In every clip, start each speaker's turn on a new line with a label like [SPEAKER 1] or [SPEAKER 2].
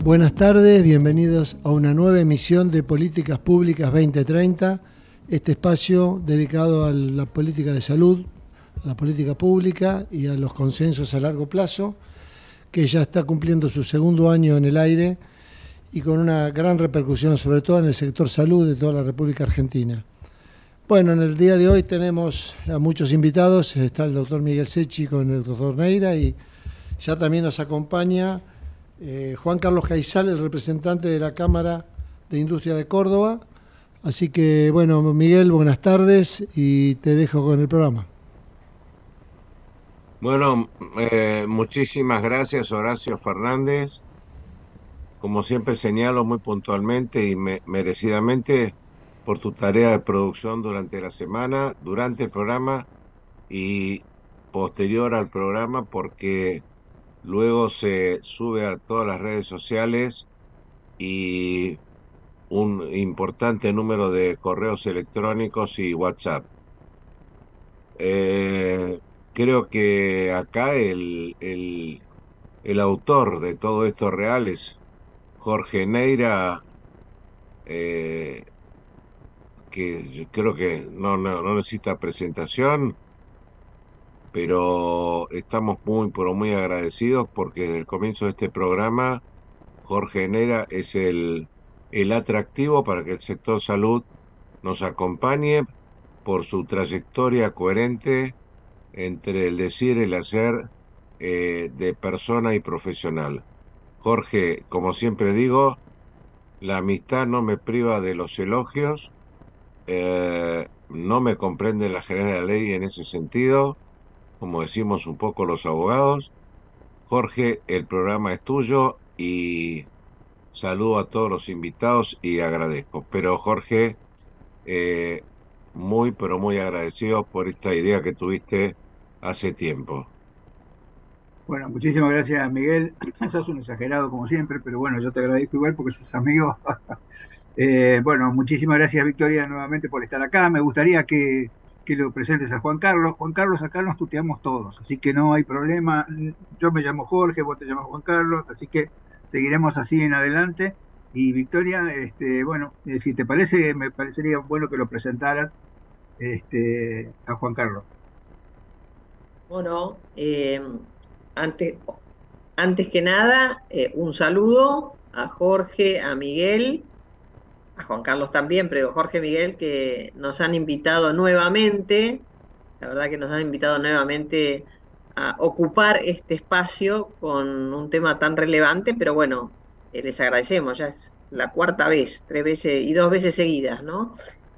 [SPEAKER 1] Buenas tardes, bienvenidos a una nueva emisión de Políticas Públicas 2030, este espacio dedicado a la política de salud, a la política pública y a los consensos a largo plazo, que ya está cumpliendo su segundo año en el aire y con una gran repercusión, sobre todo en el sector salud de toda la República Argentina. Bueno, en el día de hoy tenemos a muchos invitados, está el doctor Miguel Secchi con el doctor Neira y ya también nos acompaña Juan Carlos Caizal, el representante de la Cámara de Industria de Córdoba. Así que, bueno, Miguel, buenas tardes y te dejo con el programa.
[SPEAKER 2] Bueno, muchísimas gracias, Horacio Fernández. Como siempre señalo muy puntualmente y merecidamente por tu tarea de producción durante la semana, durante el programa y posterior al programa, porque luego se sube a todas las redes sociales y un importante número de correos electrónicos y WhatsApp. Creo que acá el autor de todo esto real es Jorge Neira, eh, que yo creo que no necesita presentación, pero estamos pero muy agradecidos porque desde el comienzo de este programa Jorge Neira es el atractivo para que el sector salud nos acompañe por su trayectoria coherente entre el decir y el hacer, de persona y profesional. Jorge, como siempre digo, la amistad no me priva de los elogios, no me comprende la general de la ley en ese sentido, como decimos un poco los abogados. Jorge, el programa es tuyo y saludo a todos los invitados y agradezco. Pero Jorge, eh, muy, pero muy agradecido por esta idea que tuviste hace tiempo.
[SPEAKER 3] Bueno, muchísimas gracias, Miguel. Sos un exagerado como siempre, pero bueno, yo te agradezco igual porque sos amigo. Bueno, muchísimas gracias, Victoria, nuevamente por estar acá. Me gustaría que lo presentes a Juan Carlos. Juan Carlos, acá nos tuteamos todos, así que no hay problema. Yo me llamo Jorge, vos te llamas Juan Carlos, así que seguiremos así en adelante. Y Victoria, bueno, si te parece, me parecería bueno que lo presentaras a Juan Carlos.
[SPEAKER 4] Bueno, antes, antes que nada, un saludo a Jorge, a Miguel, a Juan Carlos también, pero Jorge y Miguel que nos han invitado nuevamente, la verdad que nos han invitado nuevamente a ocupar este espacio con un tema tan relevante, pero bueno, les agradecemos, ya es la cuarta vez, 3 veces y 2 veces seguidas, ¿no?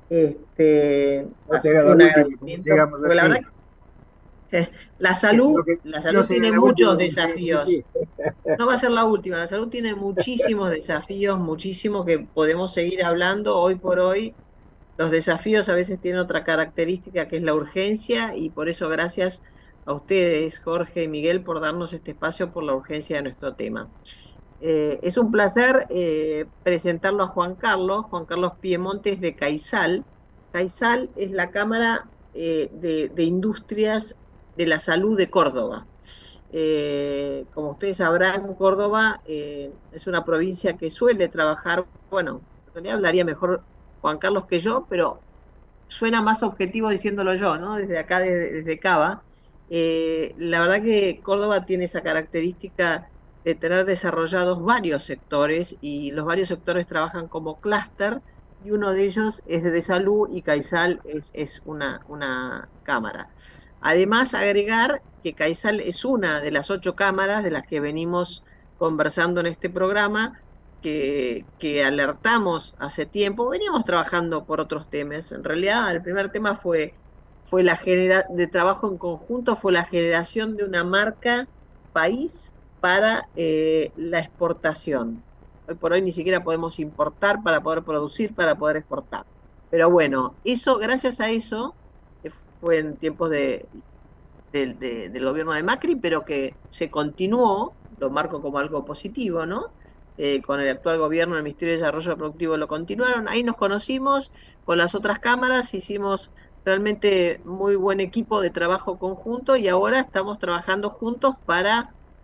[SPEAKER 3] No
[SPEAKER 4] Así
[SPEAKER 3] será
[SPEAKER 4] que
[SPEAKER 3] la
[SPEAKER 4] un
[SPEAKER 3] última, como
[SPEAKER 4] agradecimiento,
[SPEAKER 3] llegamos
[SPEAKER 4] porque la verdad
[SPEAKER 3] así.
[SPEAKER 4] que la
[SPEAKER 3] Espero
[SPEAKER 4] salud,
[SPEAKER 3] que
[SPEAKER 4] la
[SPEAKER 3] no
[SPEAKER 4] salud
[SPEAKER 3] será
[SPEAKER 4] tiene
[SPEAKER 3] la última,
[SPEAKER 4] muchos
[SPEAKER 3] como llegamos así.
[SPEAKER 4] desafíos. No va a ser la última, la salud tiene muchísimos desafíos, muchísimo que podemos seguir hablando hoy por hoy. Los desafíos a veces tienen otra característica que es la urgencia y por eso gracias a ustedes, Jorge y Miguel, por darnos este espacio por la urgencia de nuestro tema. Es un placer presentarlo a Juan Carlos Piemontes de Caizal. Caizal es la Cámara de Industrias de la Salud de Córdoba. Como ustedes sabrán, Córdoba es una provincia que suele trabajar, bueno, en realidad hablaría mejor Juan Carlos que yo, pero suena más objetivo diciéndolo yo, ¿no? Desde acá, desde Cava. La verdad que Córdoba tiene esa característica de tener desarrollados varios sectores y los varios sectores trabajan como clúster y uno de ellos es de salud y Caizal es una cámara. Además, agregar que Caizal es una de las 8 cámaras de las que venimos conversando en este programa, que alertamos hace tiempo, veníamos trabajando por otros temas. En realidad, el primer tema fue de trabajo en conjunto, fue la generación de una marca país para la exportación. Hoy por hoy ni siquiera podemos importar para poder producir, para poder exportar. Pero bueno, gracias a eso, fue en tiempos del gobierno de Macri, pero que se continuó, lo marco como algo positivo, ¿no? Con el actual gobierno, el Ministerio de Desarrollo Productivo lo continuaron, ahí nos conocimos con las otras cámaras, hicimos realmente muy buen equipo de trabajo conjunto y ahora estamos trabajando juntos para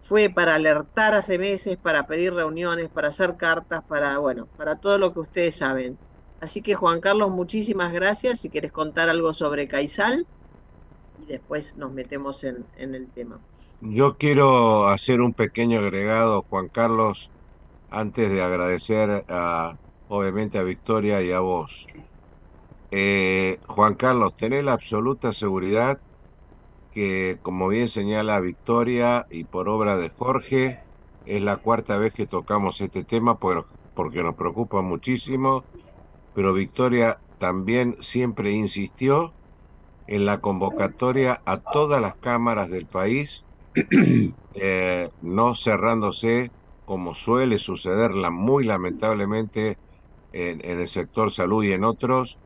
[SPEAKER 4] fue para alertar hace meses, para pedir reuniones, para hacer cartas, para, bueno, para todo lo que ustedes saben. Así que Juan Carlos, muchísimas gracias. Si quieres contar algo sobre Caizal y después nos metemos en el tema.
[SPEAKER 2] Yo quiero hacer un pequeño agregado, Juan Carlos, antes de agradecer obviamente a Victoria y a vos. Juan Carlos, tenés la absoluta seguridad que, como bien señala Victoria y por obra de Jorge, es la cuarta vez que tocamos este tema porque nos preocupa muchísimo, pero Victoria también siempre insistió en la convocatoria a todas las cámaras del país, no cerrándose como suele suceder muy lamentablemente en el sector salud y en otros,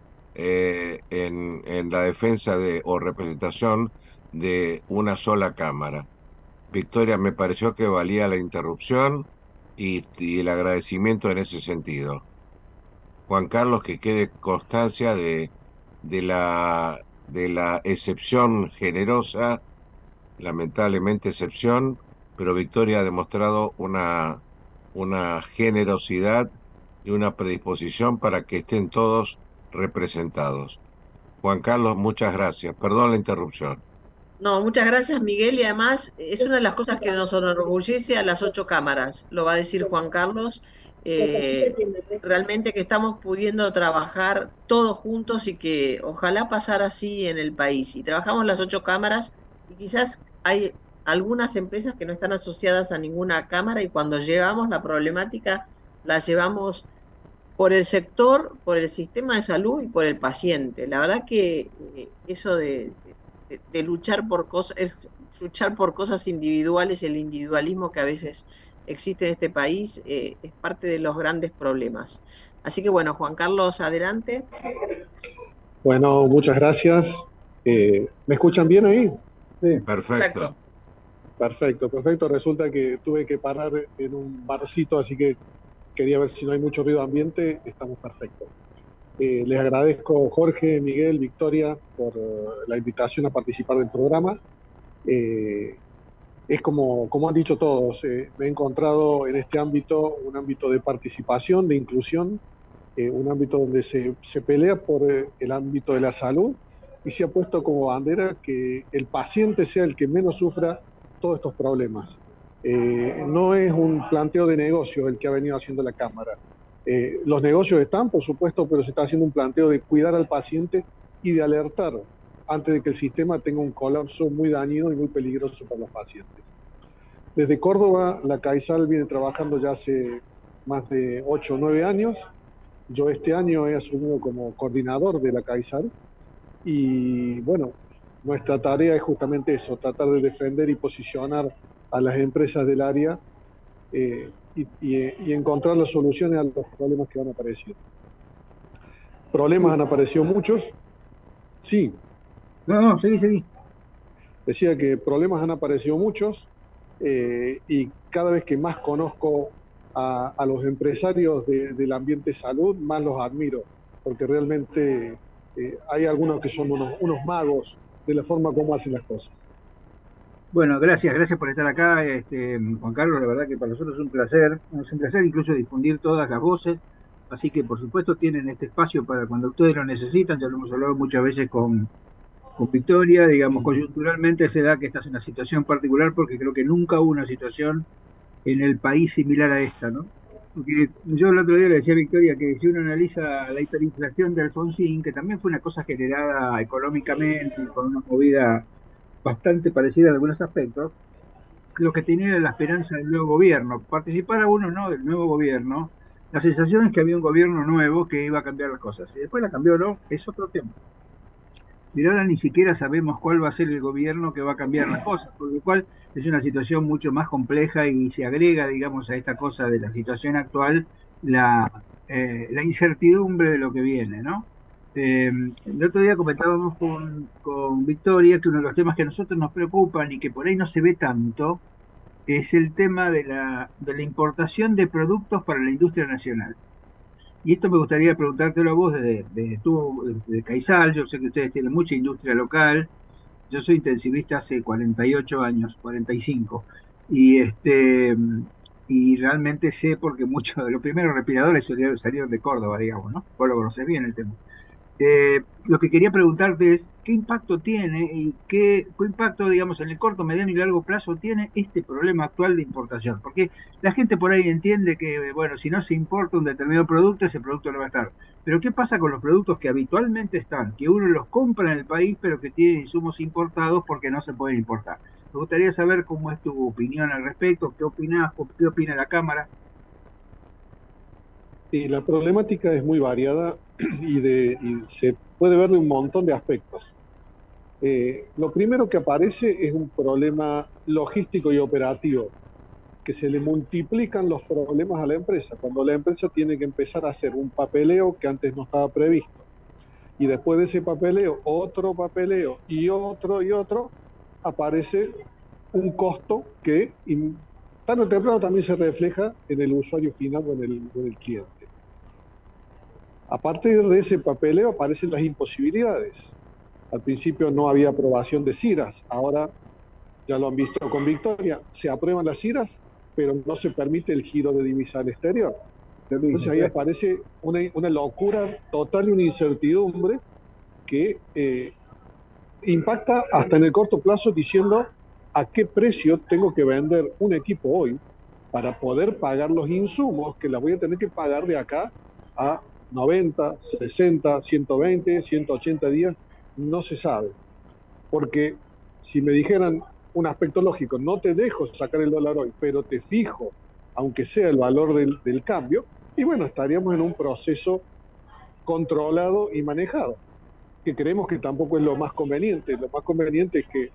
[SPEAKER 2] en la defensa o representación de una sola cámara. Victoria, me pareció que valía la interrupción y el agradecimiento en ese sentido. Juan Carlos, que quede constancia de la excepción generosa, lamentablemente excepción, pero Victoria ha demostrado una generosidad y una predisposición para que estén todos representados. Juan Carlos, muchas gracias. Perdón la interrupción.
[SPEAKER 4] No, muchas gracias, Miguel, y además es una de las cosas que nos enorgullece a las 8 cámaras, lo va a decir Juan Carlos, eh, realmente que estamos pudiendo trabajar todos juntos y que ojalá pasara así en el país. Y trabajamos las 8 cámaras y quizás hay algunas empresas que no están asociadas a ninguna cámara y cuando llevamos la problemática la llevamos por el sector, por el sistema de salud y por el paciente. La verdad que eso de luchar por cosas, luchar por cosas individuales, el individualismo que a veces existe en este país, es parte de los grandes problemas. Así que bueno, Juan Carlos, adelante.
[SPEAKER 5] Bueno, muchas gracias. ¿Me escuchan bien ahí?
[SPEAKER 3] Sí.
[SPEAKER 2] Perfecto.
[SPEAKER 5] Perfecto, perfecto. Resulta que tuve que parar en un barcito, así que quería ver si no hay mucho ruido ambiente. Estamos perfectos. Les agradezco Jorge, Miguel, Victoria por la invitación a participar del programa. Es como han dicho todos, me he encontrado en este ámbito, un ámbito de participación, de inclusión, un ámbito donde se pelea por el ámbito de la salud y se ha puesto como bandera que el paciente sea el que menos sufra todos estos problemas. No es un planteo de negocio el que ha venido haciendo la Cámara. Los negocios están, por supuesto, pero se está haciendo un planteo de cuidar al paciente y de alertar antes de que el sistema tenga un colapso muy dañino y muy peligroso para los pacientes. Desde Córdoba, la CAISAL viene trabajando ya hace más de 8 o 9 años. Yo este año he asumido como coordinador de la CAISAL y bueno, nuestra tarea es justamente eso, tratar de defender y posicionar a las empresas del área y encontrar las soluciones a los problemas que van apareciendo. Problemas han aparecido muchos. Sí.
[SPEAKER 3] No, seguí.
[SPEAKER 5] Decía que problemas han aparecido muchos y cada vez que más conozco a los empresarios del ambiente salud, más los admiro, porque realmente hay algunos que son unos magos de la forma como hacen las cosas.
[SPEAKER 3] Bueno, gracias por estar acá, Juan Carlos. La verdad que para nosotros es un placer incluso difundir todas las voces. Así que, por supuesto, tienen este espacio para cuando ustedes lo necesitan. Ya lo hemos hablado muchas veces con Victoria. Digamos, coyunturalmente se da que esta es una situación particular porque creo que nunca hubo una situación en el país similar a esta, ¿no? Porque yo el otro día le decía a Victoria que si uno analiza la hiperinflación de Alfonsín, que también fue una cosa generada económicamente, con una movida bastante parecida en algunos aspectos, lo que tenía era la esperanza del nuevo gobierno. Participar a uno no del nuevo gobierno, la sensación es que había un gobierno nuevo que iba a cambiar las cosas. Y después la cambió, ¿no? Es otro tema. Pero ahora ni siquiera sabemos cuál va a ser el gobierno que va a cambiar las cosas, por lo cual es una situación mucho más compleja y se agrega, digamos, a esta cosa de la situación actual la incertidumbre de lo que viene, ¿no? El otro día comentábamos con Victoria que uno de los temas que a nosotros nos preocupan y que por ahí no se ve tanto es el tema de la importación de productos para la industria nacional. Y esto me gustaría preguntártelo a vos desde Caizal. Yo sé que ustedes tienen mucha industria local. Yo soy intensivista hace 48 años, 45. Y realmente sé porque muchos de los primeros respiradores salieron de Córdoba, digamos, ¿no? Vos lo conocés bien el tema. Lo que quería preguntarte es, ¿qué impacto tiene y qué impacto, digamos, en el corto, mediano y largo plazo tiene este problema actual de importación? Porque la gente por ahí entiende que, bueno, si no se importa un determinado producto, ese producto no va a estar. Pero ¿qué pasa con los productos que habitualmente están, que uno los compra en el país, pero que tienen insumos importados porque no se pueden importar? Me gustaría saber cómo es tu opinión al respecto, qué opinás, qué opina la Cámara.
[SPEAKER 5] Y la problemática es muy variada y se puede ver de un montón de aspectos. Lo primero que aparece es un problema logístico y operativo, que se le multiplican los problemas a la empresa, cuando la empresa tiene que empezar a hacer un papeleo que antes no estaba previsto. Y después de ese papeleo, otro papeleo y otro, aparece un costo que tarde o temprano también se refleja en el usuario final o en el cliente. A partir de ese papeleo aparecen las imposibilidades. Al principio no había aprobación de CIRAS, ahora ya lo han visto con Victoria, se aprueban las CIRAS, pero no se permite el giro de divisa al exterior. Entonces ahí aparece una locura total y una incertidumbre que impacta hasta en el corto plazo diciendo a qué precio tengo que vender un equipo hoy para poder pagar los insumos que las voy a tener que pagar de acá a 90, 60, 120, 180 días, no se sabe. Porque si me dijeran un aspecto lógico, no te dejo sacar el dólar hoy, pero te fijo, aunque sea el valor del cambio, y bueno, estaríamos en un proceso controlado y manejado, que creemos que tampoco es lo más conveniente. Lo más conveniente es que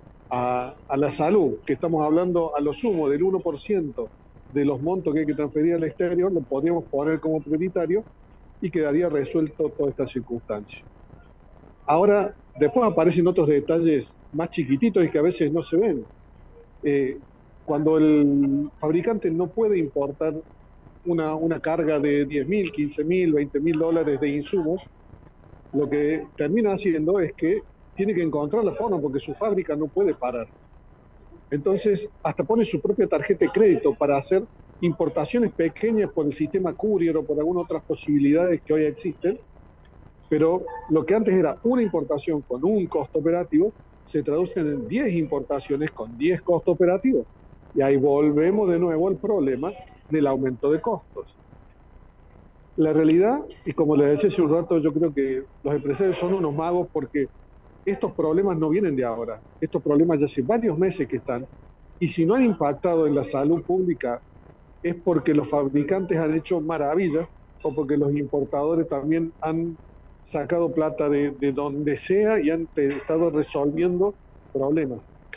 [SPEAKER 5] a la salud, que estamos hablando a lo sumo del 1% de los montos que hay que transferir al exterior, lo podríamos poner como prioritario y quedaría resuelto toda esta circunstancia. Ahora, después aparecen otros detalles más chiquititos y que a veces no se ven. Cuando el fabricante no puede importar una carga de 10.000, 15.000, 20.000 dólares de insumos, lo que termina haciendo es que tiene que encontrar la forma porque su fábrica no puede parar. Entonces, hasta pone su propia tarjeta de crédito para hacer importaciones pequeñas por el sistema courier o por algunas otras posibilidades que hoy existen, pero lo que antes era una importación con un costo operativo, se traducen en 10 importaciones con 10 costos operativos. Y ahí volvemos de nuevo al problema del aumento de costos. La realidad, y como les decía hace un rato, yo creo que los empresarios son unos magos porque estos problemas no vienen de ahora. Estos problemas ya hace varios meses que están. Y si no han impactado en la salud pública, es porque los fabricantes han hecho maravillas o porque los importadores también han sacado plata de donde sea y han estado resolviendo problemas.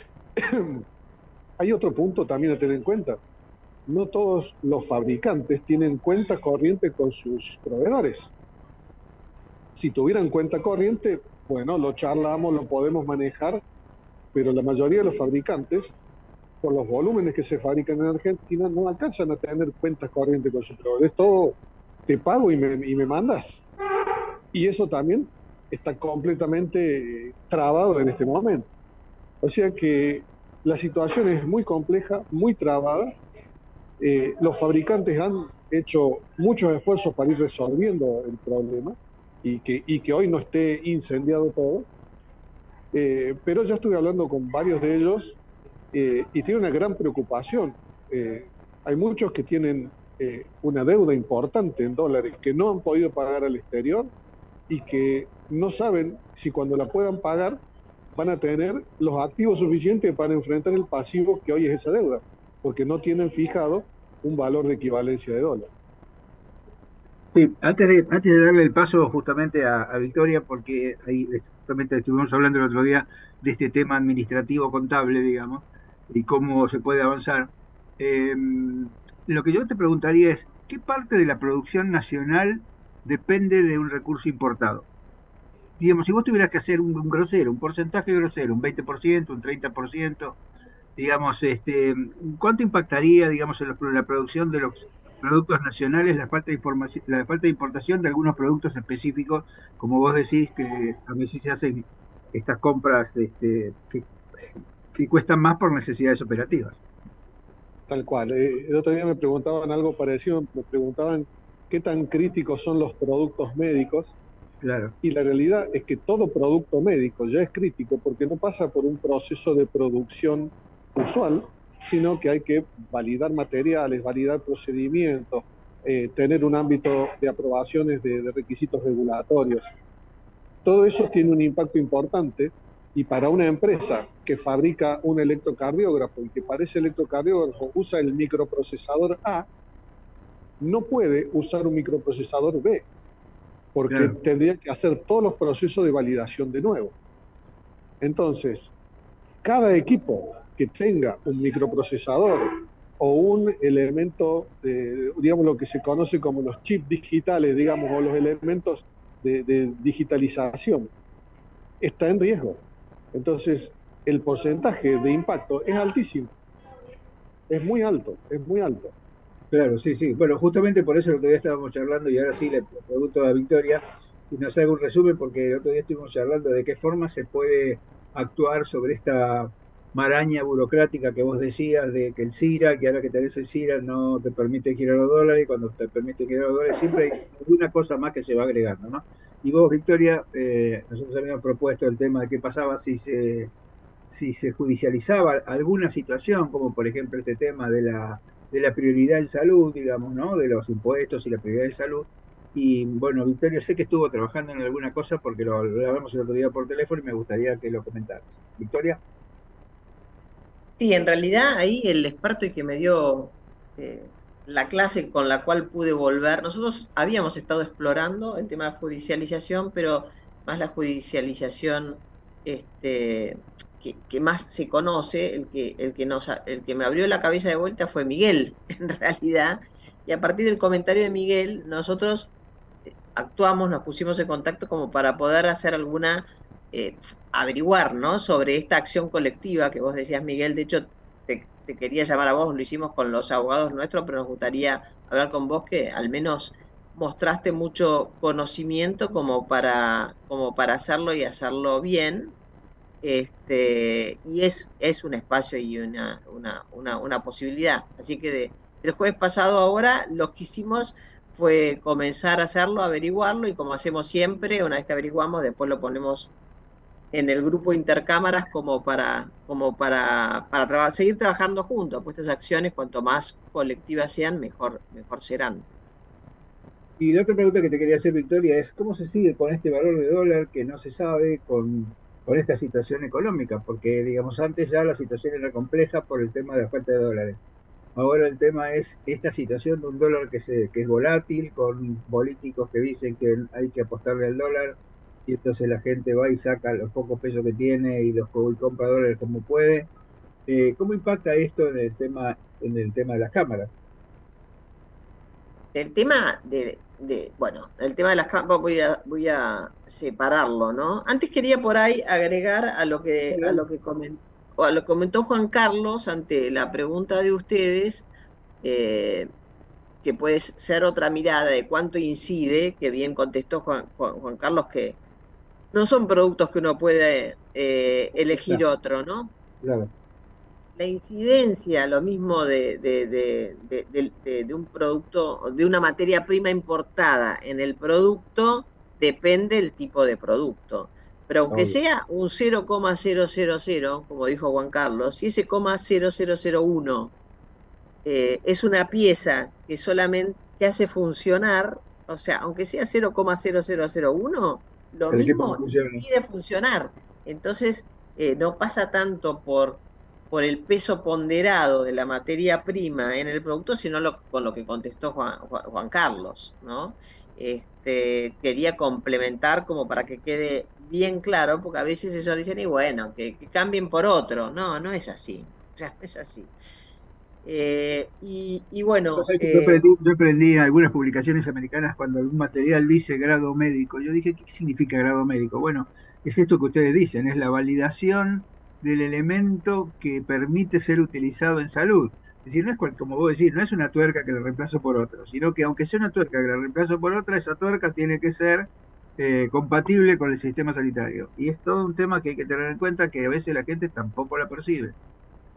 [SPEAKER 5] Hay otro punto también a tener en cuenta. No todos los fabricantes tienen cuenta corriente con sus proveedores. Si tuvieran cuenta corriente, bueno, lo charlamos, lo podemos manejar, pero la mayoría de los fabricantes, por los volúmenes que se fabrican en Argentina, no alcanzan a tener cuentas corrientes con sus proveedores. Todo te pago y me mandas. Y eso también está completamente trabado en este momento. O sea que la situación es muy compleja, muy trabada. Los fabricantes han hecho muchos esfuerzos para ir resolviendo el problema y que hoy no esté incendiado todo. Pero ya estuve hablando con varios de ellos y tienen una gran preocupación. Hay muchos que tienen una deuda importante en dólares que no han podido pagar al exterior y que no saben si cuando la puedan pagar van a tener los activos suficientes para enfrentar el pasivo que hoy es esa deuda, porque no tienen fijado un valor de equivalencia de dólar.
[SPEAKER 3] Sí, antes de darle el paso justamente a Victoria, porque ahí justamente estuvimos hablando el otro día de este tema administrativo contable, digamos, y cómo se puede avanzar. Lo que yo te preguntaría es, ¿qué parte de la producción nacional depende de un recurso importado? Digamos, si vos tuvieras que hacer un grosero, un porcentaje grosero, un 20%, un 30%, digamos, ¿cuánto impactaría, digamos, en la producción de los productos nacionales la falta de información, la falta de importación de algunos productos específicos, como vos decís, que a veces se hacen estas compras que cuestan más por necesidades operativas?
[SPEAKER 5] Tal cual. El otro día me preguntaban algo parecido, me preguntaban qué tan críticos son los productos médicos,
[SPEAKER 3] Claro,
[SPEAKER 5] y la realidad es que todo producto médico ya es crítico porque no pasa por un proceso de producción usual, sino que hay que validar materiales, validar procedimientos, tener un ámbito de aprobaciones de requisitos regulatorios. Todo eso tiene un impacto importante, y para una empresa que fabrica un electrocardiógrafo y que para ese electrocardiógrafo usa el microprocesador A, no puede usar un microprocesador B, porque
[SPEAKER 3] claro.
[SPEAKER 5] tendría que hacer todos los procesos de validación de nuevo. Entonces, cada equipo que tenga un microprocesador o un elemento, digamos, lo que se conoce como los chips digitales, digamos, o los elementos de digitalización, está en riesgo. Entonces, el porcentaje de impacto es altísimo, es muy alto, es muy alto.
[SPEAKER 3] Claro, sí, sí. Bueno, justamente por eso el otro día estábamos charlando y ahora sí le pregunto a Victoria que nos haga un resumen porque el otro día estuvimos charlando de qué forma se puede actuar sobre esta maraña burocrática que vos decías de que el CIRA, que ahora que tenés el CIRA no te permite girar los dólares y cuando te permite girar los dólares siempre hay alguna cosa más que se va agregando, ¿no? Y vos, Victoria, nosotros habíamos propuesto el tema de qué pasaba si se judicializaba alguna situación, como por ejemplo este tema de la prioridad en salud, digamos, ¿no? De los impuestos y la prioridad en salud. Y bueno, Victoria, sé que estuvo trabajando en alguna cosa porque lo hablamos el otro día por teléfono y me gustaría que lo comentaras. Victoria.
[SPEAKER 4] Sí, en realidad ahí el experto y que me dio la clase con la cual pude volver, nosotros habíamos estado explorando el tema de la judicialización, pero más la judicialización que más se conoce, el que me abrió la cabeza de vuelta fue Miguel, en realidad, y a partir del comentario de Miguel, nosotros actuamos, nos pusimos en contacto como para poder hacer alguna, averiguar, ¿no? Sobre esta acción colectiva que vos decías, Miguel. De hecho, te quería llamar a vos, lo hicimos con los abogados nuestros, pero nos gustaría hablar con vos que al menos mostraste mucho conocimiento como para hacerlo y hacerlo bien. Y es un espacio y una posibilidad. Así que del jueves pasado ahora lo que hicimos fue comenzar a hacerlo, averiguarlo, y como hacemos siempre, una vez que averiguamos, después lo ponemos en el grupo de intercámaras para seguir trabajando juntos. Pues estas acciones, cuanto más colectivas sean, mejor serán.
[SPEAKER 3] Y la otra pregunta que te quería hacer, Victoria, es ¿cómo se sigue con este valor de dólar que no se sabe con esta situación económica? Porque, digamos, antes ya la situación era compleja por el tema de la falta de dólares. Ahora el tema es esta situación de un dólar que es volátil, con políticos que dicen que hay que apostarle al dólar, y entonces la gente va y saca los pocos pesos que tiene y compra dólares como puede. ¿Cómo impacta esto en el tema de las cámaras?
[SPEAKER 4] El tema bueno, el tema de las capas voy a separarlo, ¿no? Antes quería por ahí agregar a lo que comentó Juan Carlos ante la pregunta de ustedes, eh, que puede ser otra mirada de cuánto incide, que bien contestó Juan Carlos, que no son productos que uno puede elegir
[SPEAKER 3] Claro,
[SPEAKER 4] otro, ¿no?
[SPEAKER 3] claro.
[SPEAKER 4] La incidencia, lo mismo de un producto, de una materia prima importada en el producto, depende del tipo de producto. Pero aunque
[SPEAKER 3] Obvio.
[SPEAKER 4] sea un 0,000, como dijo Juan Carlos, si ese 0,0001 es una pieza que solamente que hace funcionar, o sea, aunque sea 0,0001, lo
[SPEAKER 3] El equipo no
[SPEAKER 4] mismo
[SPEAKER 3] funciona.
[SPEAKER 4] impide funcionar. Entonces, no pasa tanto por el peso ponderado de la materia prima en el producto, sino con lo que contestó Juan Carlos, ¿no? Quería complementar como para que quede bien claro, porque a veces ellos dicen, y bueno, que cambien por otro. No, no es así. O sea, no es así. Y
[SPEAKER 3] Vos
[SPEAKER 4] bueno,
[SPEAKER 3] sabés que yo aprendí en algunas publicaciones americanas cuando algún material dice grado médico. Yo dije, ¿qué significa grado médico? Bueno, es esto que ustedes dicen, es la validación del elemento que permite ser utilizado en salud. Es decir, no es como vos decís, no es una tuerca que la reemplazo por otra, sino que aunque sea una tuerca que la reemplazo por otra, esa tuerca tiene que ser compatible con el sistema sanitario. Y es todo un tema que hay que tener en cuenta que a veces la gente tampoco la percibe.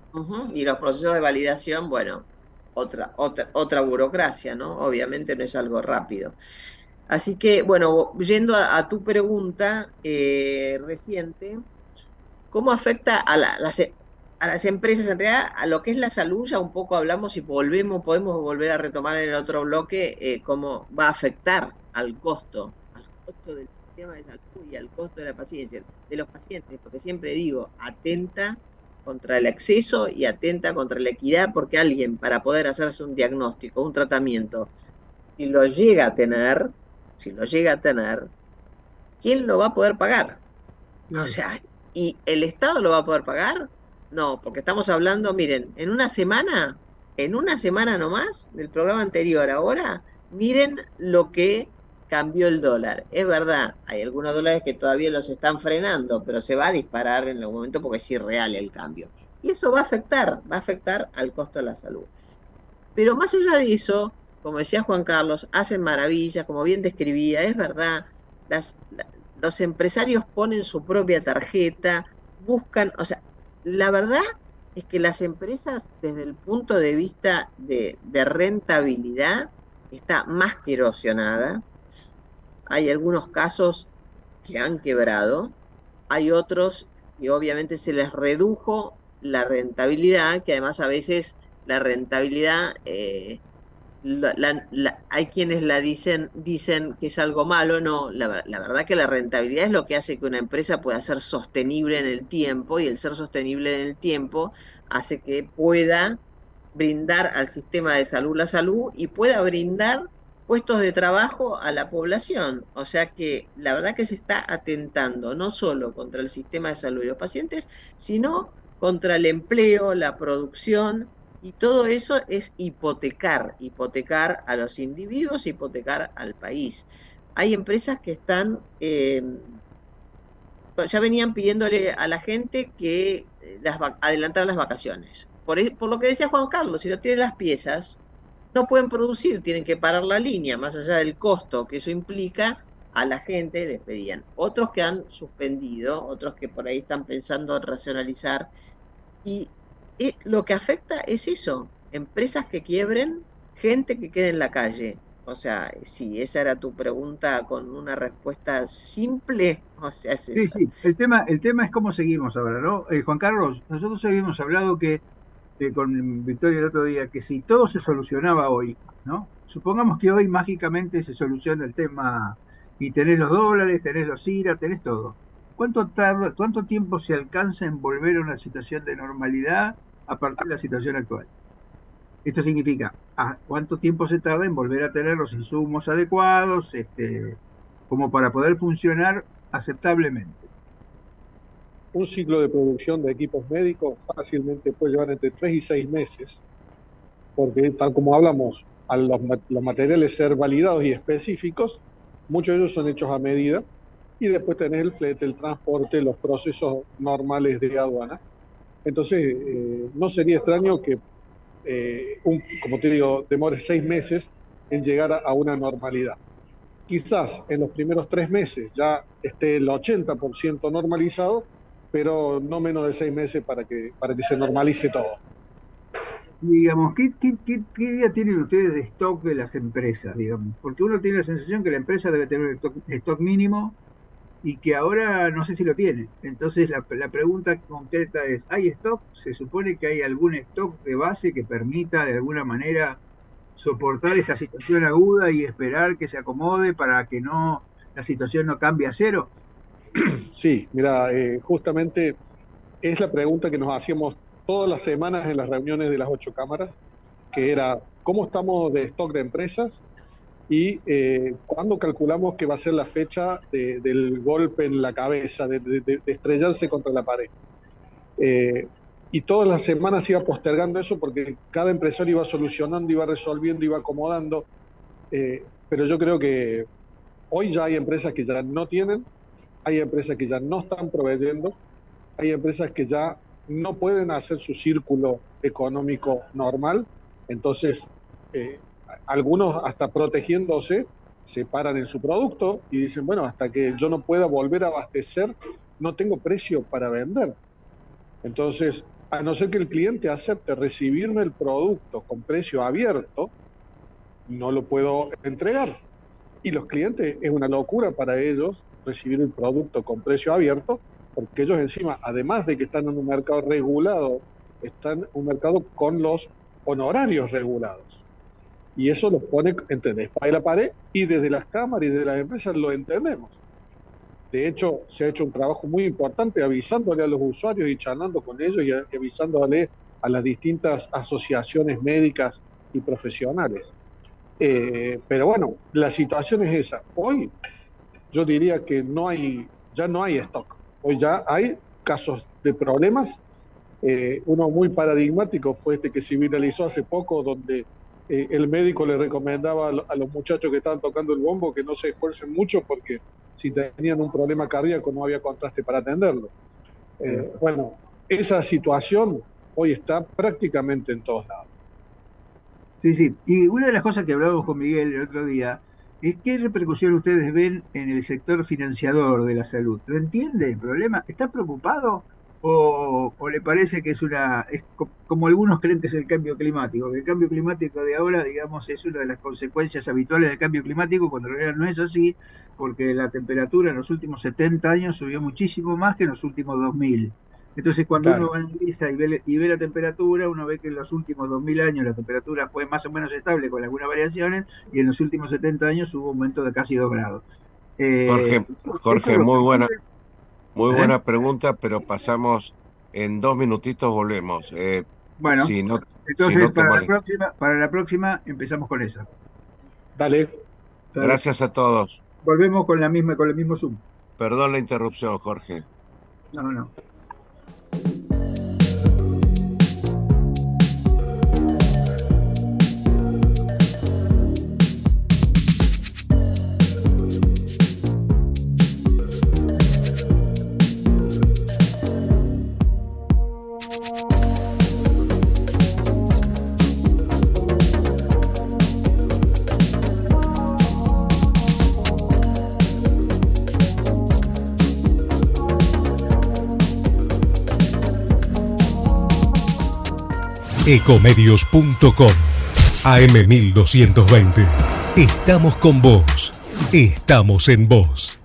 [SPEAKER 4] Ujú. Y los procesos de validación, bueno, otra burocracia, ¿no? Obviamente no es algo rápido. Así que, bueno, yendo a tu pregunta reciente, ¿cómo afecta a las empresas? En realidad, a lo que es la salud, ya un poco hablamos y podemos volver a retomar en el otro bloque cómo va a afectar al costo del sistema de salud y al costo de la paciencia, de los pacientes, porque siempre digo, atenta contra el exceso y atenta contra la equidad, porque alguien para poder hacerse un diagnóstico, un tratamiento, si lo llega a tener, si lo llega a tener, ¿quién lo va a poder pagar? O
[SPEAKER 3] Claro.
[SPEAKER 4] sea, ¿y el Estado lo va a poder pagar? No, porque estamos hablando, miren, en una semana nomás del programa anterior, ahora, miren lo que cambió el dólar. Es verdad, hay algunos dólares que todavía los están frenando, pero se va a disparar en algún momento porque es irreal el cambio. Y eso va a afectar al costo de la salud. Pero más allá de eso, como decía Juan Carlos, hacen maravillas, como bien describía, es verdad, los empresarios ponen su propia tarjeta, buscan, o sea, la verdad es que las empresas desde el punto de vista de rentabilidad está más que erosionada. Hay algunos casos que han quebrado, hay otros que obviamente se les redujo la rentabilidad, que además a veces la rentabilidad hay quienes dicen que es algo malo. No, la verdad que la rentabilidad es lo que hace que una empresa pueda ser sostenible en el tiempo, y el ser sostenible en el tiempo hace que pueda brindar al sistema de salud la salud y pueda brindar puestos de trabajo a la población. O sea que la verdad que se está atentando no solo contra el sistema de salud y los pacientes, sino contra el empleo, la producción, y todo eso es hipotecar a los individuos, hipotecar al país. Hay empresas que están, ya venían pidiéndole a la gente que adelantara las vacaciones. Por lo que decía Juan Carlos, si no tienen las piezas, no pueden producir, tienen que parar la línea, más allá del costo que eso implica, a la gente les pedían. Otros que han suspendido, otros que por ahí están pensando en racionalizar, y lo que afecta es eso, empresas que quiebren, gente que quede en la calle. O sea, si esa era tu pregunta con una respuesta simple, o sea, es
[SPEAKER 3] Sí,
[SPEAKER 4] esa.
[SPEAKER 3] sí, el tema es cómo seguimos ahora, ¿no? Juan Carlos, nosotros habíamos hablado que con Victoria el otro día, que si todo se solucionaba hoy, ¿no? Supongamos que hoy mágicamente se soluciona el tema y tenés los dólares, tenés los IRA, tenés todo. ¿Cuánto tiempo se alcanza en volver a una situación de normalidad a partir de la situación actual? Esto significa, ¿cuánto tiempo se tarda en volver a tener los insumos adecuados, como para poder funcionar aceptablemente?
[SPEAKER 5] Un ciclo de producción de equipos médicos fácilmente puede llevar entre 3 y 6 meses, porque tal como hablamos, al los materiales ser validados y específicos, muchos de ellos son hechos a medida, y después tenés el flete, el transporte, los procesos normales de aduana. Entonces, no sería extraño que, como te digo, demore 6 meses en llegar a una normalidad. Quizás en los primeros 3 meses ya esté el 80% normalizado, pero no menos de 6 meses para que se normalice todo.
[SPEAKER 3] Y digamos, ¿qué idea tienen ustedes de stock de las empresas, digamos? Porque uno tiene la sensación que la empresa debe tener un stock mínimo y que ahora no sé si lo tiene. Entonces la pregunta concreta es, ¿hay stock? ¿Se supone que hay algún stock de base que permita de alguna manera soportar esta situación aguda y esperar que se acomode para que no la situación no cambie a cero?
[SPEAKER 5] Sí, mira, justamente es la pregunta que nos hacíamos todas las semanas en las reuniones de las 8 cámaras, que era, ¿cómo estamos de stock de empresas? Y cuándo calculamos que va a ser la fecha del golpe en la cabeza, de estrellarse contra la pared. Eh, y todas las semanas iba postergando eso porque cada empresario iba solucionando, iba resolviendo, iba acomodando. Pero yo creo que hoy ya hay empresas que ya no tienen, hay empresas que ya no están proveyendo, hay empresas que ya no pueden hacer su círculo económico normal. Entonces, eh, algunos hasta protegiéndose se paran en su producto y dicen, bueno, hasta que yo no pueda volver a abastecer, no tengo precio para vender. Entonces, a no ser que el cliente acepte recibirme el producto con precio abierto, no lo puedo entregar. Y los clientes, es una locura para ellos recibir el producto con precio abierto, porque ellos encima, además de que están en un mercado regulado, están en un mercado con los honorarios regulados. Y eso los pone entre la espada y la pared, y desde las cámaras y desde las empresas lo entendemos. De hecho, se ha hecho un trabajo muy importante avisándole a los usuarios y charlando con ellos y avisándole a las distintas asociaciones médicas y profesionales. Pero bueno, la situación es esa. Hoy yo diría que ya no hay stock. Hoy ya hay casos de problemas. Uno muy paradigmático fue este que se viralizó hace poco, donde el médico le recomendaba a los muchachos que estaban tocando el bombo que no se esfuercen mucho porque si tenían un problema cardíaco no había contraste para atenderlo. Bueno, esa situación hoy está prácticamente en todos lados.
[SPEAKER 3] Sí, sí. Y una de las cosas que hablábamos con Miguel el otro día es qué repercusión ustedes ven en el sector financiador de la salud. ¿Lo entiende el problema? ¿Está preocupado o le parece que es como algunos creen que es el cambio climático? Que el cambio climático de ahora, digamos, es una de las consecuencias habituales del cambio climático, cuando en realidad no es así, porque la temperatura en los últimos 70 años subió muchísimo más que en los últimos 2000. Entonces, cuando uno analiza y ve la temperatura, uno ve que en los últimos 2000 años la temperatura fue más o menos estable con algunas variaciones, y en los últimos 70 años hubo un aumento de casi 2 grados.
[SPEAKER 2] Jorge, muy buena pregunta, pero pasamos en 2 minutitos, volvemos.
[SPEAKER 3] Bueno,
[SPEAKER 2] si no,
[SPEAKER 3] entonces
[SPEAKER 2] si no
[SPEAKER 3] para la próxima empezamos con esa.
[SPEAKER 5] Dale.
[SPEAKER 2] Gracias a todos.
[SPEAKER 3] Volvemos con el mismo Zoom.
[SPEAKER 2] Perdón la interrupción, Jorge.
[SPEAKER 3] No.
[SPEAKER 6] Ecomedios.com AM1220. Estamos con vos. Estamos en vos.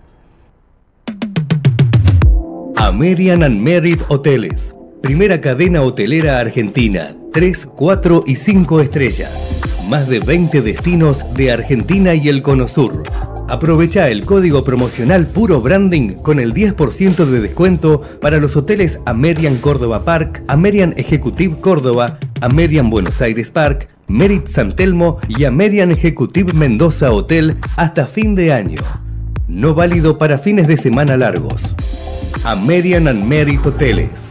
[SPEAKER 6] American and Merit Hoteles. Primera cadena hotelera argentina. 3, 4 y 5 estrellas. Más de 20 destinos de Argentina y el Cono Sur. Aprovecha el código promocional Puro Branding con el 10% de descuento para los hoteles American Córdoba Park, American Executive Córdoba, American Buenos Aires Park, Merit San Telmo y American Executive Mendoza Hotel hasta fin de año. No válido para fines de semana largos. American and Merit Hoteles.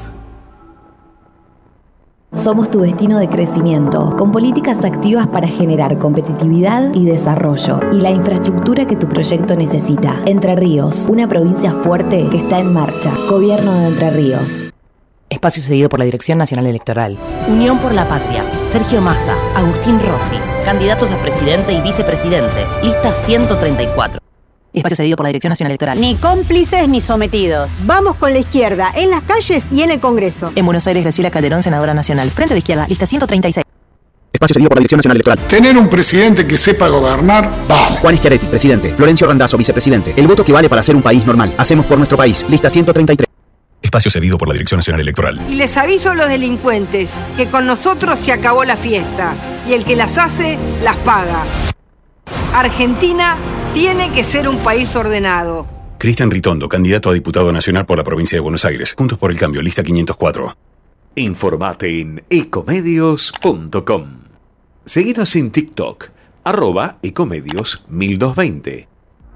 [SPEAKER 7] Somos tu destino de crecimiento, con políticas activas para generar competitividad y desarrollo, y la infraestructura que tu proyecto necesita. Entre Ríos, una provincia fuerte que está en marcha. Gobierno de Entre Ríos.
[SPEAKER 8] Espacio cedido por la Dirección Nacional Electoral. Unión por la Patria. Sergio Massa, Agustín Rossi. Candidatos a presidente y vicepresidente. Lista 134. Espacio cedido por la Dirección Nacional Electoral.
[SPEAKER 9] Ni cómplices ni sometidos. Vamos con la izquierda, en las calles y en el Congreso.
[SPEAKER 8] En Buenos Aires, Graciela Calderón, senadora nacional. Frente de Izquierda, lista 136.
[SPEAKER 10] Espacio cedido por la Dirección Nacional Electoral.
[SPEAKER 11] Tener un presidente que sepa gobernar, vale.
[SPEAKER 10] Juan Schiaretti, presidente. Florencio Randazzo, vicepresidente. El voto que vale para hacer un país normal. Hacemos por nuestro país. Lista 133.
[SPEAKER 6] Espacio cedido por la Dirección Nacional Electoral.
[SPEAKER 12] Y les aviso a los delincuentes que con nosotros se acabó la fiesta. Y el que las hace, las paga. Argentina tiene que ser un país ordenado.
[SPEAKER 6] Cristian Ritondo, candidato a diputado nacional por la provincia de Buenos Aires. Juntos por el Cambio, lista 504.
[SPEAKER 13] Informate en ecomedios.com. Seguinos en TikTok, @ecomedios1220.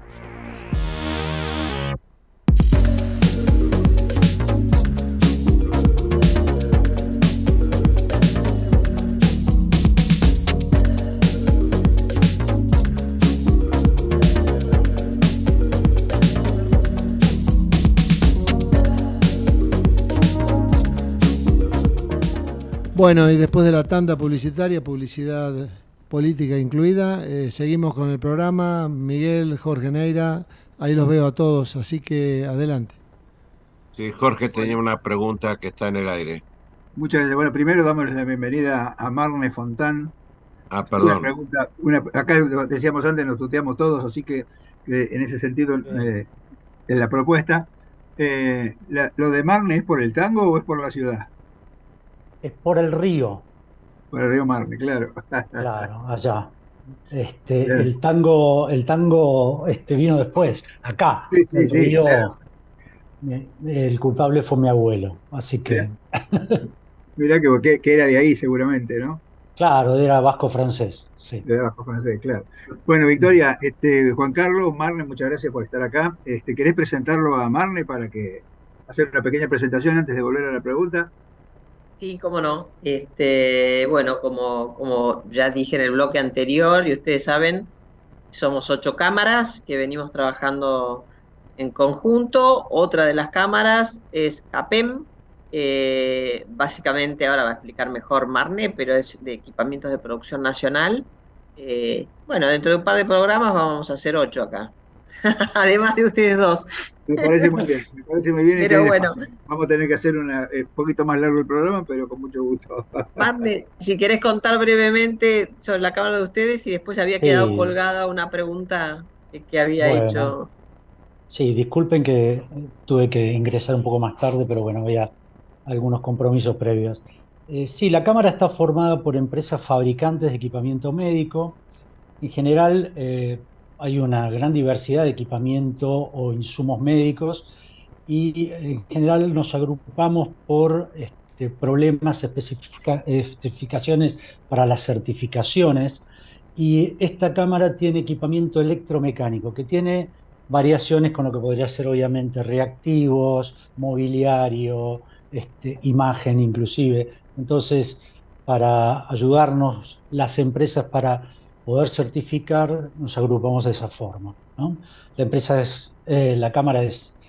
[SPEAKER 1] Bueno, y después de la tanda publicitaria, publicidad política incluida, seguimos con el programa. Miguel, Jorge Neira, ahí los veo a todos, así que adelante.
[SPEAKER 2] Sí, Jorge tenía una pregunta que está en el aire.
[SPEAKER 3] Muchas gracias. Bueno, primero damos la bienvenida a Marne Fontán. Una
[SPEAKER 2] Perdón.
[SPEAKER 3] pregunta, acá decíamos antes, nos tuteamos todos, así que en ese sentido, en la propuesta, ¿lo de Marne es por el tango o es por la ciudad?
[SPEAKER 14] Es por el río.
[SPEAKER 3] Por el río Marne, claro.
[SPEAKER 14] Claro, allá.
[SPEAKER 3] Claro.
[SPEAKER 14] El tango vino después, acá.
[SPEAKER 3] Sí, sí,
[SPEAKER 14] El
[SPEAKER 3] sí,
[SPEAKER 14] río,
[SPEAKER 3] claro.
[SPEAKER 14] el culpable fue mi abuelo, así que,
[SPEAKER 3] Mirá que era de ahí seguramente, ¿no?
[SPEAKER 14] claro, era vasco francés, sí.
[SPEAKER 3] De abajo francés, claro. Bueno, Victoria, Juan Carlos, Marne, muchas gracias por estar acá. ¿Querés presentarlo a Marne para que hacer una pequeña presentación antes de volver a la pregunta?
[SPEAKER 4] Sí, cómo no. Bueno, como ya dije en el bloque anterior, y ustedes saben, somos 8 cámaras que venimos trabajando en conjunto. Otra de las cámaras es CAPEM. Básicamente, ahora va a explicar mejor Marne, pero es de equipamientos de producción nacional. Bueno, dentro de un par de programas vamos a hacer 8 acá. Además de ustedes dos.
[SPEAKER 3] Me parece muy bien, me parece muy bien y
[SPEAKER 4] Pero
[SPEAKER 3] tiene
[SPEAKER 4] bueno,
[SPEAKER 3] espacio. Vamos a tener que hacer un poquito más largo el programa, pero con mucho gusto.
[SPEAKER 4] Marne, si querés contar brevemente sobre la cámara de ustedes y después había quedado
[SPEAKER 14] Sí,
[SPEAKER 4] colgada una pregunta que había
[SPEAKER 14] bueno,
[SPEAKER 4] hecho.
[SPEAKER 14] sí, disculpen que tuve que ingresar un poco más tarde, pero bueno, había algunos compromisos previos. Sí, la cámara está formada por empresas fabricantes de equipamiento médico. En general, hay una gran diversidad de equipamiento o insumos médicos y en general nos agrupamos por problemas, especificaciones para las certificaciones. Y esta cámara tiene equipamiento electromecánico que tiene variaciones con lo que podría ser obviamente reactivos, mobiliario, imagen inclusive. Entonces, para ayudarnos las empresas para poder certificar, nos agrupamos de esa forma, ¿no? La cámara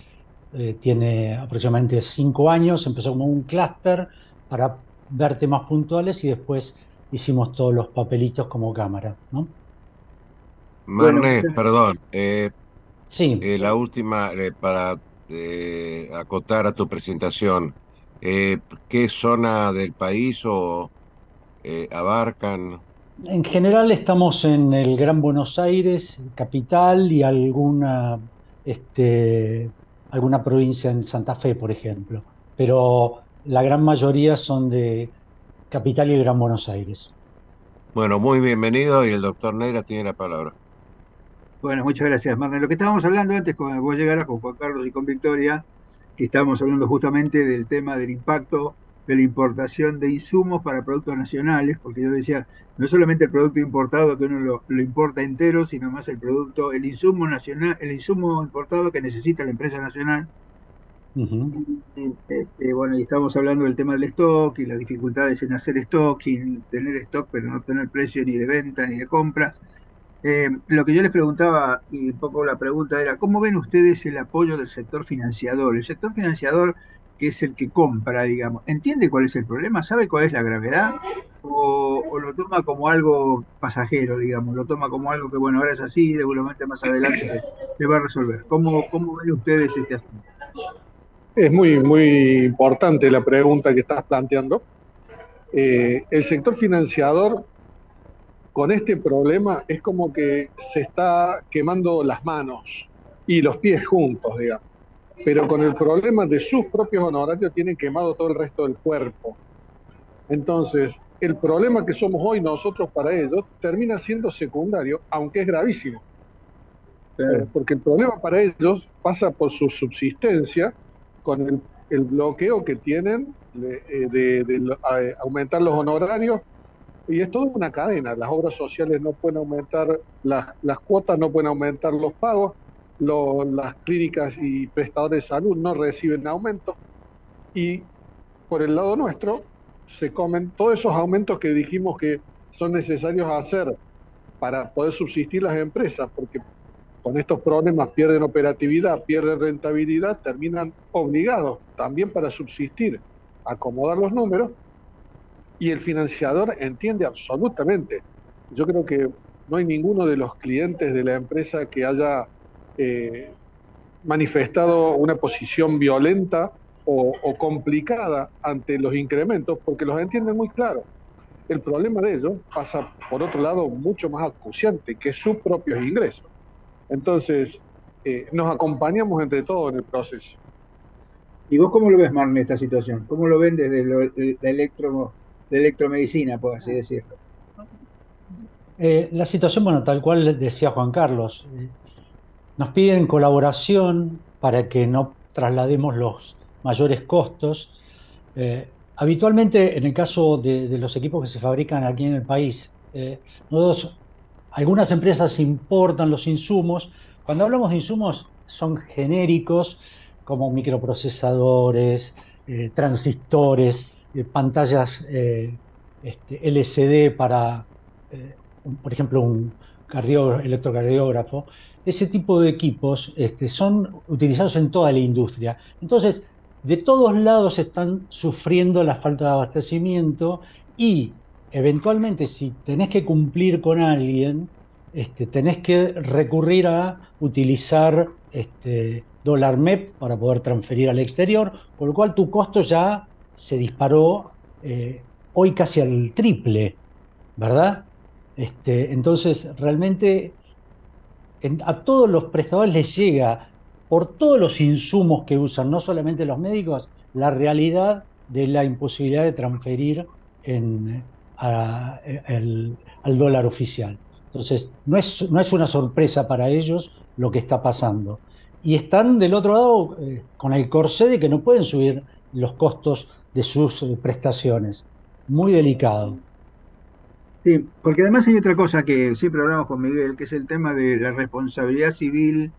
[SPEAKER 14] tiene aproximadamente 5 años, empezó como un clúster para ver temas puntuales y después hicimos todos los papelitos como cámara, ¿no?
[SPEAKER 3] Bueno,
[SPEAKER 2] Marne, perdón.
[SPEAKER 14] Sí.
[SPEAKER 2] La última, para acotar a tu presentación, ¿qué zona del país o abarcan?
[SPEAKER 14] En general estamos en el Gran Buenos Aires, capital, y alguna provincia en Santa Fe, por ejemplo. Pero la gran mayoría son de capital y Gran Buenos Aires.
[SPEAKER 2] Bueno, muy bienvenido y el doctor Neira tiene la palabra.
[SPEAKER 3] Bueno, muchas gracias, Marne. Lo que estábamos hablando antes, cuando vos llegaras con Juan Carlos y con Victoria, que estábamos hablando justamente del tema del impacto de la importación de insumos para productos nacionales, porque yo decía, no es solamente el producto importado que uno lo importa entero, sino más el producto, el insumo nacional, el insumo importado que necesita la empresa nacional. Bueno, y estamos hablando del tema del stock y las dificultades en hacer stock y en tener stock, pero no tener precio ni de venta ni de compra. Lo que yo les preguntaba, y un poco la pregunta era, ¿cómo ven ustedes el apoyo del sector financiador? El sector financiador, que es el que compra, digamos, ¿entiende cuál es el problema? ¿Sabe cuál es la gravedad? ¿O lo toma como algo pasajero, digamos? ¿Lo toma como algo que, bueno, ahora es así y seguramente más adelante se va a resolver? ¿Cómo ven ustedes este asunto?
[SPEAKER 5] Es muy, muy importante la pregunta que estás planteando. El sector financiador con este problema es como que se está quemando las manos y los pies juntos, digamos. Pero con el problema de sus propios honorarios tienen quemado todo el resto del cuerpo. Entonces, el problema que somos hoy nosotros para ellos termina siendo secundario, aunque es gravísimo. Porque el problema para ellos pasa por su subsistencia con el bloqueo que tienen de aumentar los honorarios. Y es toda una cadena. Las obras sociales no pueden aumentar, las cuotas no pueden aumentar los pagos, las clínicas y prestadores de salud no reciben aumento. Y por el lado nuestro se comen todos esos aumentos que dijimos que son necesarios hacer para poder subsistir las empresas, porque con estos problemas pierden operatividad, pierden rentabilidad, terminan obligados también para subsistir a acomodar los números. Y el financiador entiende absolutamente. Yo creo que no hay ninguno de los clientes de la empresa que haya manifestado una posición violenta o complicada ante los incrementos, porque los entienden muy claro. El problema de ellos pasa, por otro lado, mucho más acuciante, que sus propios ingresos. Entonces, nos acompañamos entre todos en el proceso.
[SPEAKER 3] ¿Y vos cómo lo ves, Marne, esta situación? ¿Cómo lo ven desde la electromedicina, por así decirlo?
[SPEAKER 14] La situación, bueno, tal cual decía Juan Carlos, nos piden colaboración para que no traslademos los mayores costos. Habitualmente, en el caso de los equipos que se fabrican aquí en el país, algunas empresas importan los insumos. Cuando hablamos de insumos, son genéricos, como microprocesadores, transistores, pantallas LCD para, por ejemplo, un electrocardiógrafo. Ese tipo de equipos son utilizados en toda la industria. Entonces, de todos lados están sufriendo la falta de abastecimiento y, eventualmente, si tenés que cumplir con alguien, tenés que recurrir a utilizar dólar MEP para poder transferir al exterior, por lo cual tu costo ya se disparó hoy casi al triple, ¿verdad? Entonces, realmente a todos los prestadores les llega, por todos los insumos que usan, no solamente los médicos, la realidad de la imposibilidad de transferir al dólar oficial. Entonces, no es una sorpresa para ellos lo que está pasando. Y están del otro lado con el corsé de que no pueden subir los costos de sus prestaciones. Muy delicado.
[SPEAKER 3] Sí, porque además hay otra cosa que siempre hablamos con Miguel, que es el tema de la responsabilidad civil,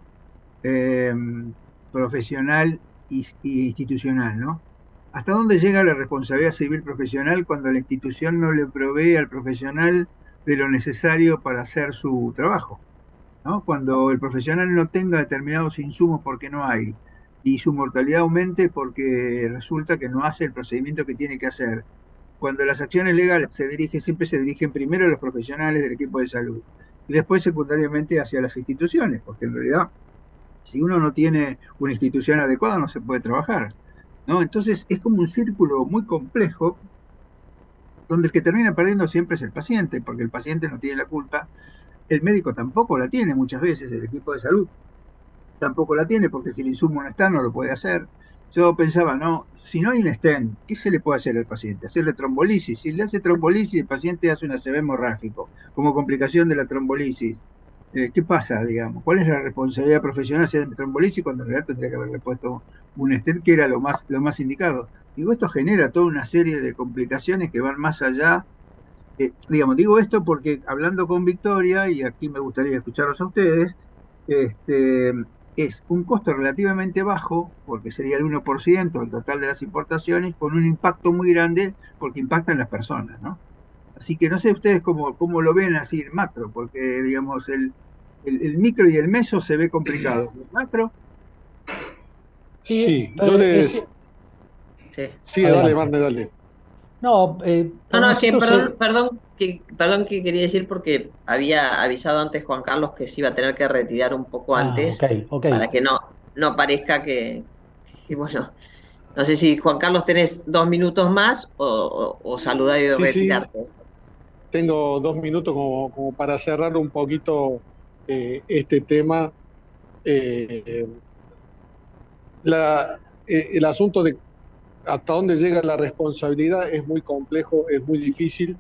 [SPEAKER 3] profesional y institucional, ¿no? ¿Hasta dónde llega la responsabilidad civil profesional cuando la institución no le provee al profesional de lo necesario para hacer su trabajo, ¿no? Cuando el profesional no tenga determinados insumos porque no hay, y su mortalidad aumente porque resulta que no hace el procedimiento que tiene que hacer. Cuando las acciones legales siempre se dirigen primero a los profesionales del equipo de salud y después secundariamente hacia las instituciones, porque en realidad si uno no tiene una institución adecuada no se puede trabajar, ¿no? Entonces es como un círculo muy complejo donde el que termina perdiendo siempre es el paciente, porque el paciente no tiene la culpa, el médico tampoco la tiene muchas veces, el equipo de salud tampoco la tiene, porque si el insumo no está no lo puede hacer. Yo pensaba, no, si no hay un stent, ¿qué se le puede hacer al paciente? Hacerle trombolisis. Si le hace trombolisis, el paciente hace un ACV hemorrágico como complicación de la trombolisis. ¿Qué pasa, digamos? ¿Cuál es la responsabilidad profesional de hacer trombolisis cuando en realidad tendría que haberle puesto un stent que era lo más indicado? Digo, esto genera toda una serie de complicaciones que van más allá. Digo esto porque hablando con Victoria, y aquí me gustaría escucharlos a ustedes, es un costo relativamente bajo, porque sería el 1% del total de las importaciones, con un impacto muy grande, porque impactan las personas, ¿no? Así que no sé ustedes cómo lo ven así en macro, porque, digamos, el micro y el meso se ve complicado. ¿El macro?
[SPEAKER 5] Sí, yo les... Sí, dale, Marne, dale.
[SPEAKER 4] No, es que perdón que quería decir porque había avisado antes Juan Carlos que se iba a tener que retirar un poco antes para que no parezca que bueno, no sé si Juan Carlos tenés 2 minutos más o saludar y retirarte.
[SPEAKER 5] Sí. Tengo 2 minutos como para cerrar un poquito este tema. El asunto de hasta dónde llega la responsabilidad es muy complejo, es muy difícil.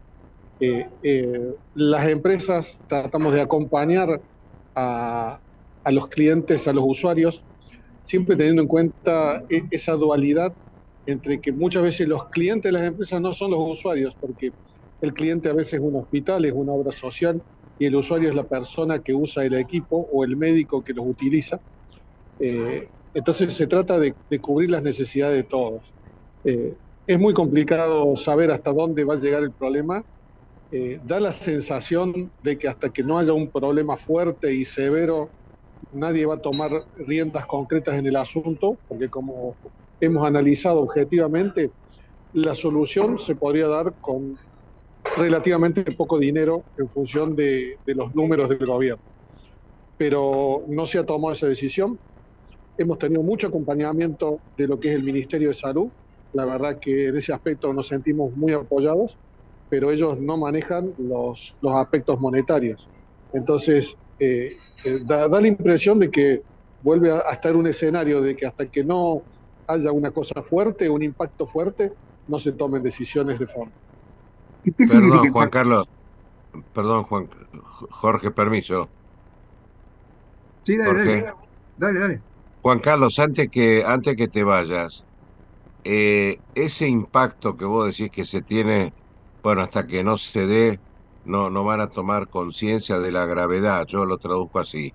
[SPEAKER 5] Las empresas tratamos de acompañar a los clientes, a los usuarios, siempre teniendo en cuenta esa dualidad entre que muchas veces los clientes de las empresas no son los usuarios, porque el cliente a veces es un hospital, es una obra social, y el usuario es la persona que usa el equipo o el médico que los utiliza. Entonces se trata de cubrir las necesidades de todos. Es muy complicado saber hasta dónde va a llegar el problema. Da la sensación de que hasta que no haya un problema fuerte y severo, nadie va a tomar riendas concretas en el asunto, porque como hemos analizado objetivamente, la solución se podría dar con relativamente poco dinero en función de los números del gobierno. Pero no se ha tomado esa decisión. hemos tenido mucho acompañamiento de lo que es el Ministerio de Salud. La verdad que en ese aspecto nos sentimos muy apoyados, pero ellos no manejan los aspectos monetarios. Entonces, da la impresión de que vuelve a estar un escenario de que hasta que no haya una cosa fuerte, un impacto fuerte, no se tomen decisiones de fondo.
[SPEAKER 2] Perdón, Juan Carlos. Perdón, Jorge, permiso.
[SPEAKER 3] Sí, dale.
[SPEAKER 2] Juan Carlos, antes que te vayas, ese impacto que vos decís que se tiene, bueno, hasta que no se dé, no van a tomar conciencia de la gravedad, yo lo traduzco así.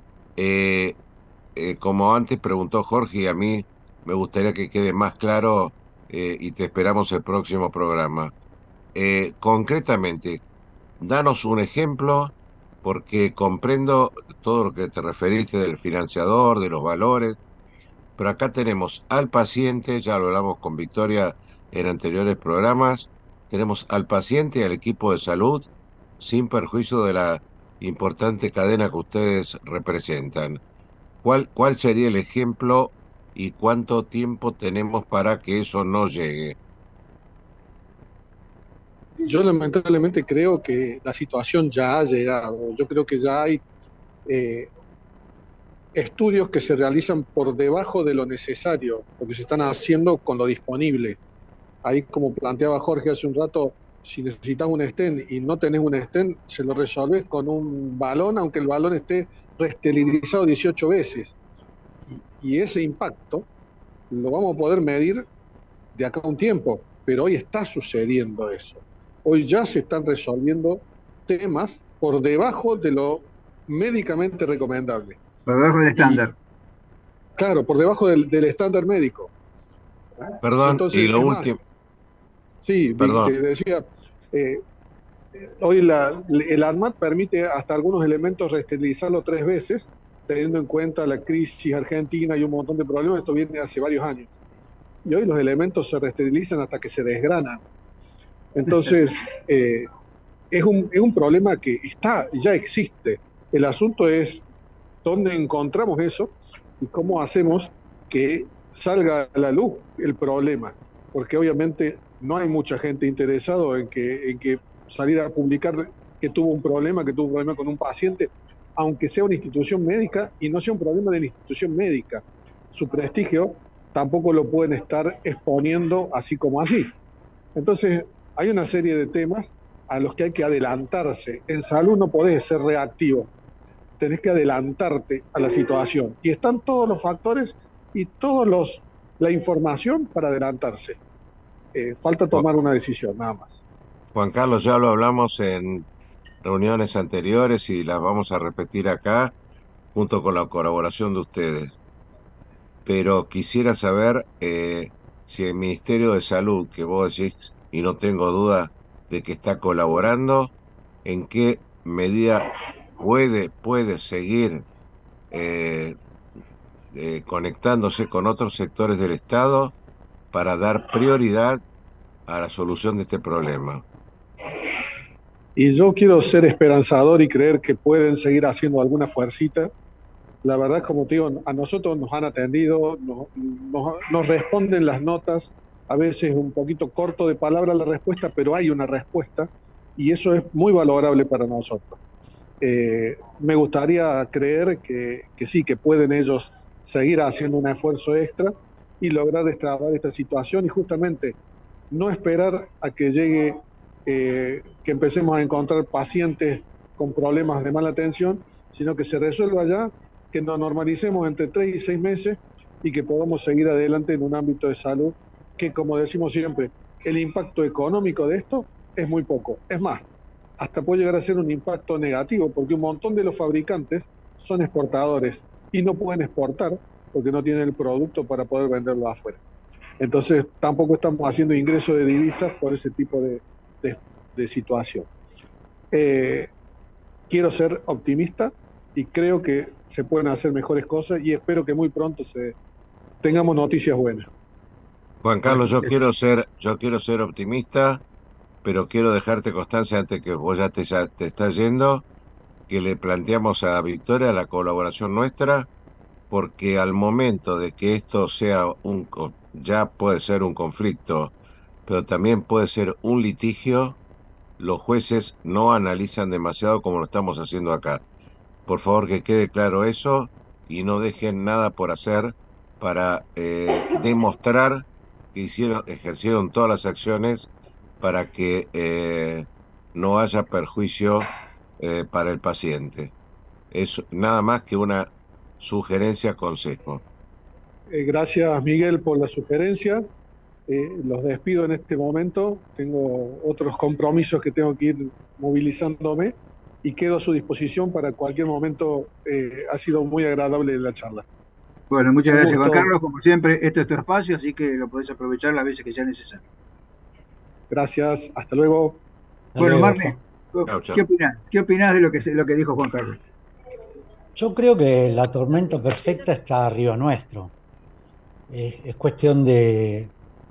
[SPEAKER 2] Como antes preguntó Jorge, y a mí me gustaría que quede más claro, y te esperamos el próximo programa. Concretamente, danos un ejemplo, porque comprendo todo lo que te referiste del financiador, de los valores, pero acá tenemos al paciente, ya lo hablamos con Victoria en anteriores programas, tenemos al paciente y al equipo de salud, sin perjuicio de la importante cadena que ustedes representan. ¿Cuál sería el ejemplo y cuánto tiempo tenemos para que eso no llegue?
[SPEAKER 5] Yo lamentablemente creo que la situación ya ha llegado. Yo creo que ya hay estudios que se realizan por debajo de lo necesario, porque se están haciendo con lo disponible. Ahí, como planteaba Jorge hace un rato, si necesitas un stent y no tenés un stent, se lo resolves con un balón, aunque el balón esté reesterilizado 18 veces. Y ese impacto lo vamos a poder medir de acá a un tiempo, pero hoy está sucediendo eso. Hoy ya se están resolviendo temas por debajo de lo médicamente recomendable.
[SPEAKER 3] Por debajo del estándar.
[SPEAKER 5] Claro, por debajo del estándar médico.
[SPEAKER 2] Perdón,
[SPEAKER 5] entonces,
[SPEAKER 2] y lo último.
[SPEAKER 5] Sí,
[SPEAKER 2] perdón.
[SPEAKER 5] Decía, hoy el ANMAT permite hasta algunos elementos reesterilizarlo 3 veces, teniendo en cuenta la crisis argentina y un montón de problemas. Esto viene hace varios años. Y hoy los elementos se reesterilizan hasta que se desgranan. Entonces, es un problema que ya existe. El asunto es dónde encontramos eso y cómo hacemos que salga a la luz el problema. Porque obviamente no hay mucha gente interesada en que salir a publicar que tuvo un problema con un paciente, aunque sea una institución médica y no sea un problema de la institución médica. Su prestigio tampoco lo pueden estar exponiendo así como así. Entonces, hay una serie de temas a los que hay que adelantarse. En salud no podés ser reactivo, tenés que adelantarte a la situación. Y están todos los factores y la información para adelantarse. Falta tomar una decisión, nada más.
[SPEAKER 2] Juan Carlos, ya lo hablamos en reuniones anteriores y las vamos a repetir acá, junto con la colaboración de ustedes. Pero quisiera saber si el Ministerio de Salud, que vos decís, y no tengo duda de que está colaborando, en qué medida puede seguir conectándose con otros sectores del Estado para dar prioridad a la solución de este problema.
[SPEAKER 5] Y yo quiero ser esperanzador y creer que pueden seguir haciendo alguna fuercita. La verdad, como te digo, a nosotros nos han atendido, nos responden las notas, a veces un poquito corto de palabra la respuesta, pero hay una respuesta y eso es muy valorable para nosotros. Me gustaría creer que sí, que pueden ellos seguir haciendo un esfuerzo extra y lograr destrabar esta situación y justamente no esperar a que llegue, que empecemos a encontrar pacientes con problemas de mala atención, sino que se resuelva ya, que nos normalicemos entre 3 y 6 meses y que podamos seguir adelante en un ámbito de salud que, como decimos siempre, el impacto económico de esto es muy poco. Es más, hasta puede llegar a ser un impacto negativo, porque un montón de los fabricantes son exportadores y no pueden exportar porque no tienen el producto para poder venderlo afuera. Entonces, tampoco estamos haciendo ingreso de divisas por ese tipo de situación. Quiero ser optimista y creo que se pueden hacer mejores cosas y espero que muy pronto tengamos noticias buenas.
[SPEAKER 2] Juan Carlos, yo quiero ser optimista, pero quiero dejarte constancia antes que vos ya te estás yendo, que le planteamos a Victoria la colaboración nuestra porque al momento de que esto sea ya puede ser un conflicto, pero también puede ser un litigio, los jueces no analizan demasiado como lo estamos haciendo acá. Por favor, que quede claro eso y no dejen nada por hacer para demostrar que ejercieron todas las acciones para que no haya perjuicio para el paciente. Es nada más que una sugerencia, consejo.
[SPEAKER 5] Gracias, Miguel, por la sugerencia. Los despido en este momento. Tengo otros compromisos que tengo que ir movilizándome y quedo a su disposición para cualquier momento. Ha sido muy agradable la charla.
[SPEAKER 3] Bueno, muchas gracias, Juan Carlos. Como siempre, esto es tu espacio, así que lo podés aprovechar las veces que sea necesario.
[SPEAKER 5] Gracias, hasta luego.
[SPEAKER 3] Bueno, Marne, ¿qué opinás? ¿Qué opinás de lo que dijo Juan Carlos?
[SPEAKER 14] Yo creo que la tormenta perfecta está arriba nuestro. Es cuestión de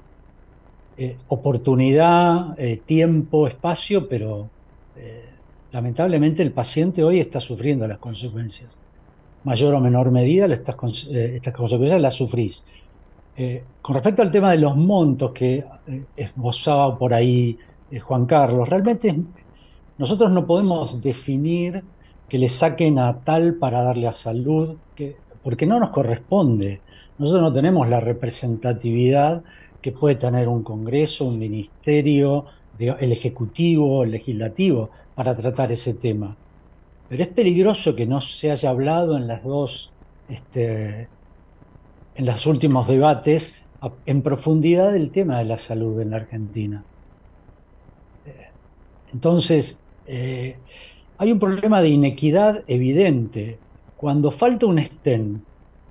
[SPEAKER 14] oportunidad, tiempo, espacio, pero lamentablemente el paciente hoy está sufriendo las consecuencias. Mayor o menor medida, estas consecuencias las sufrís. Con respecto al tema de los montos que esbozaba por ahí Juan Carlos, realmente nosotros no podemos definir que le saquen a tal para darle a salud, porque no nos corresponde. Nosotros no tenemos la representatividad que puede tener un Congreso, un ministerio, el Ejecutivo, el Legislativo, para tratar ese tema. Pero es peligroso que no se haya hablado en en los últimos debates en profundidad del tema de la salud en la Argentina. Entonces, hay un problema de inequidad evidente. Cuando falta un stent,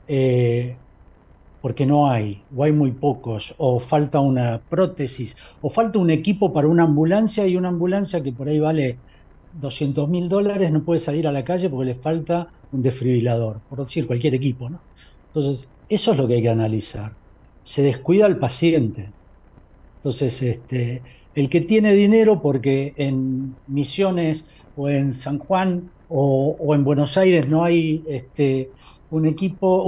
[SPEAKER 14] porque no hay, o hay muy pocos, o falta una prótesis, o falta un equipo para una ambulancia, y una ambulancia que por ahí vale $200.000 no puede salir a la calle porque le falta un desfibrilador, por decir cualquier equipo, ¿no? Entonces, eso es lo que hay que analizar. Se descuida al paciente. Entonces, el que tiene dinero porque en Misiones o en San Juan o en Buenos Aires no hay un equipo,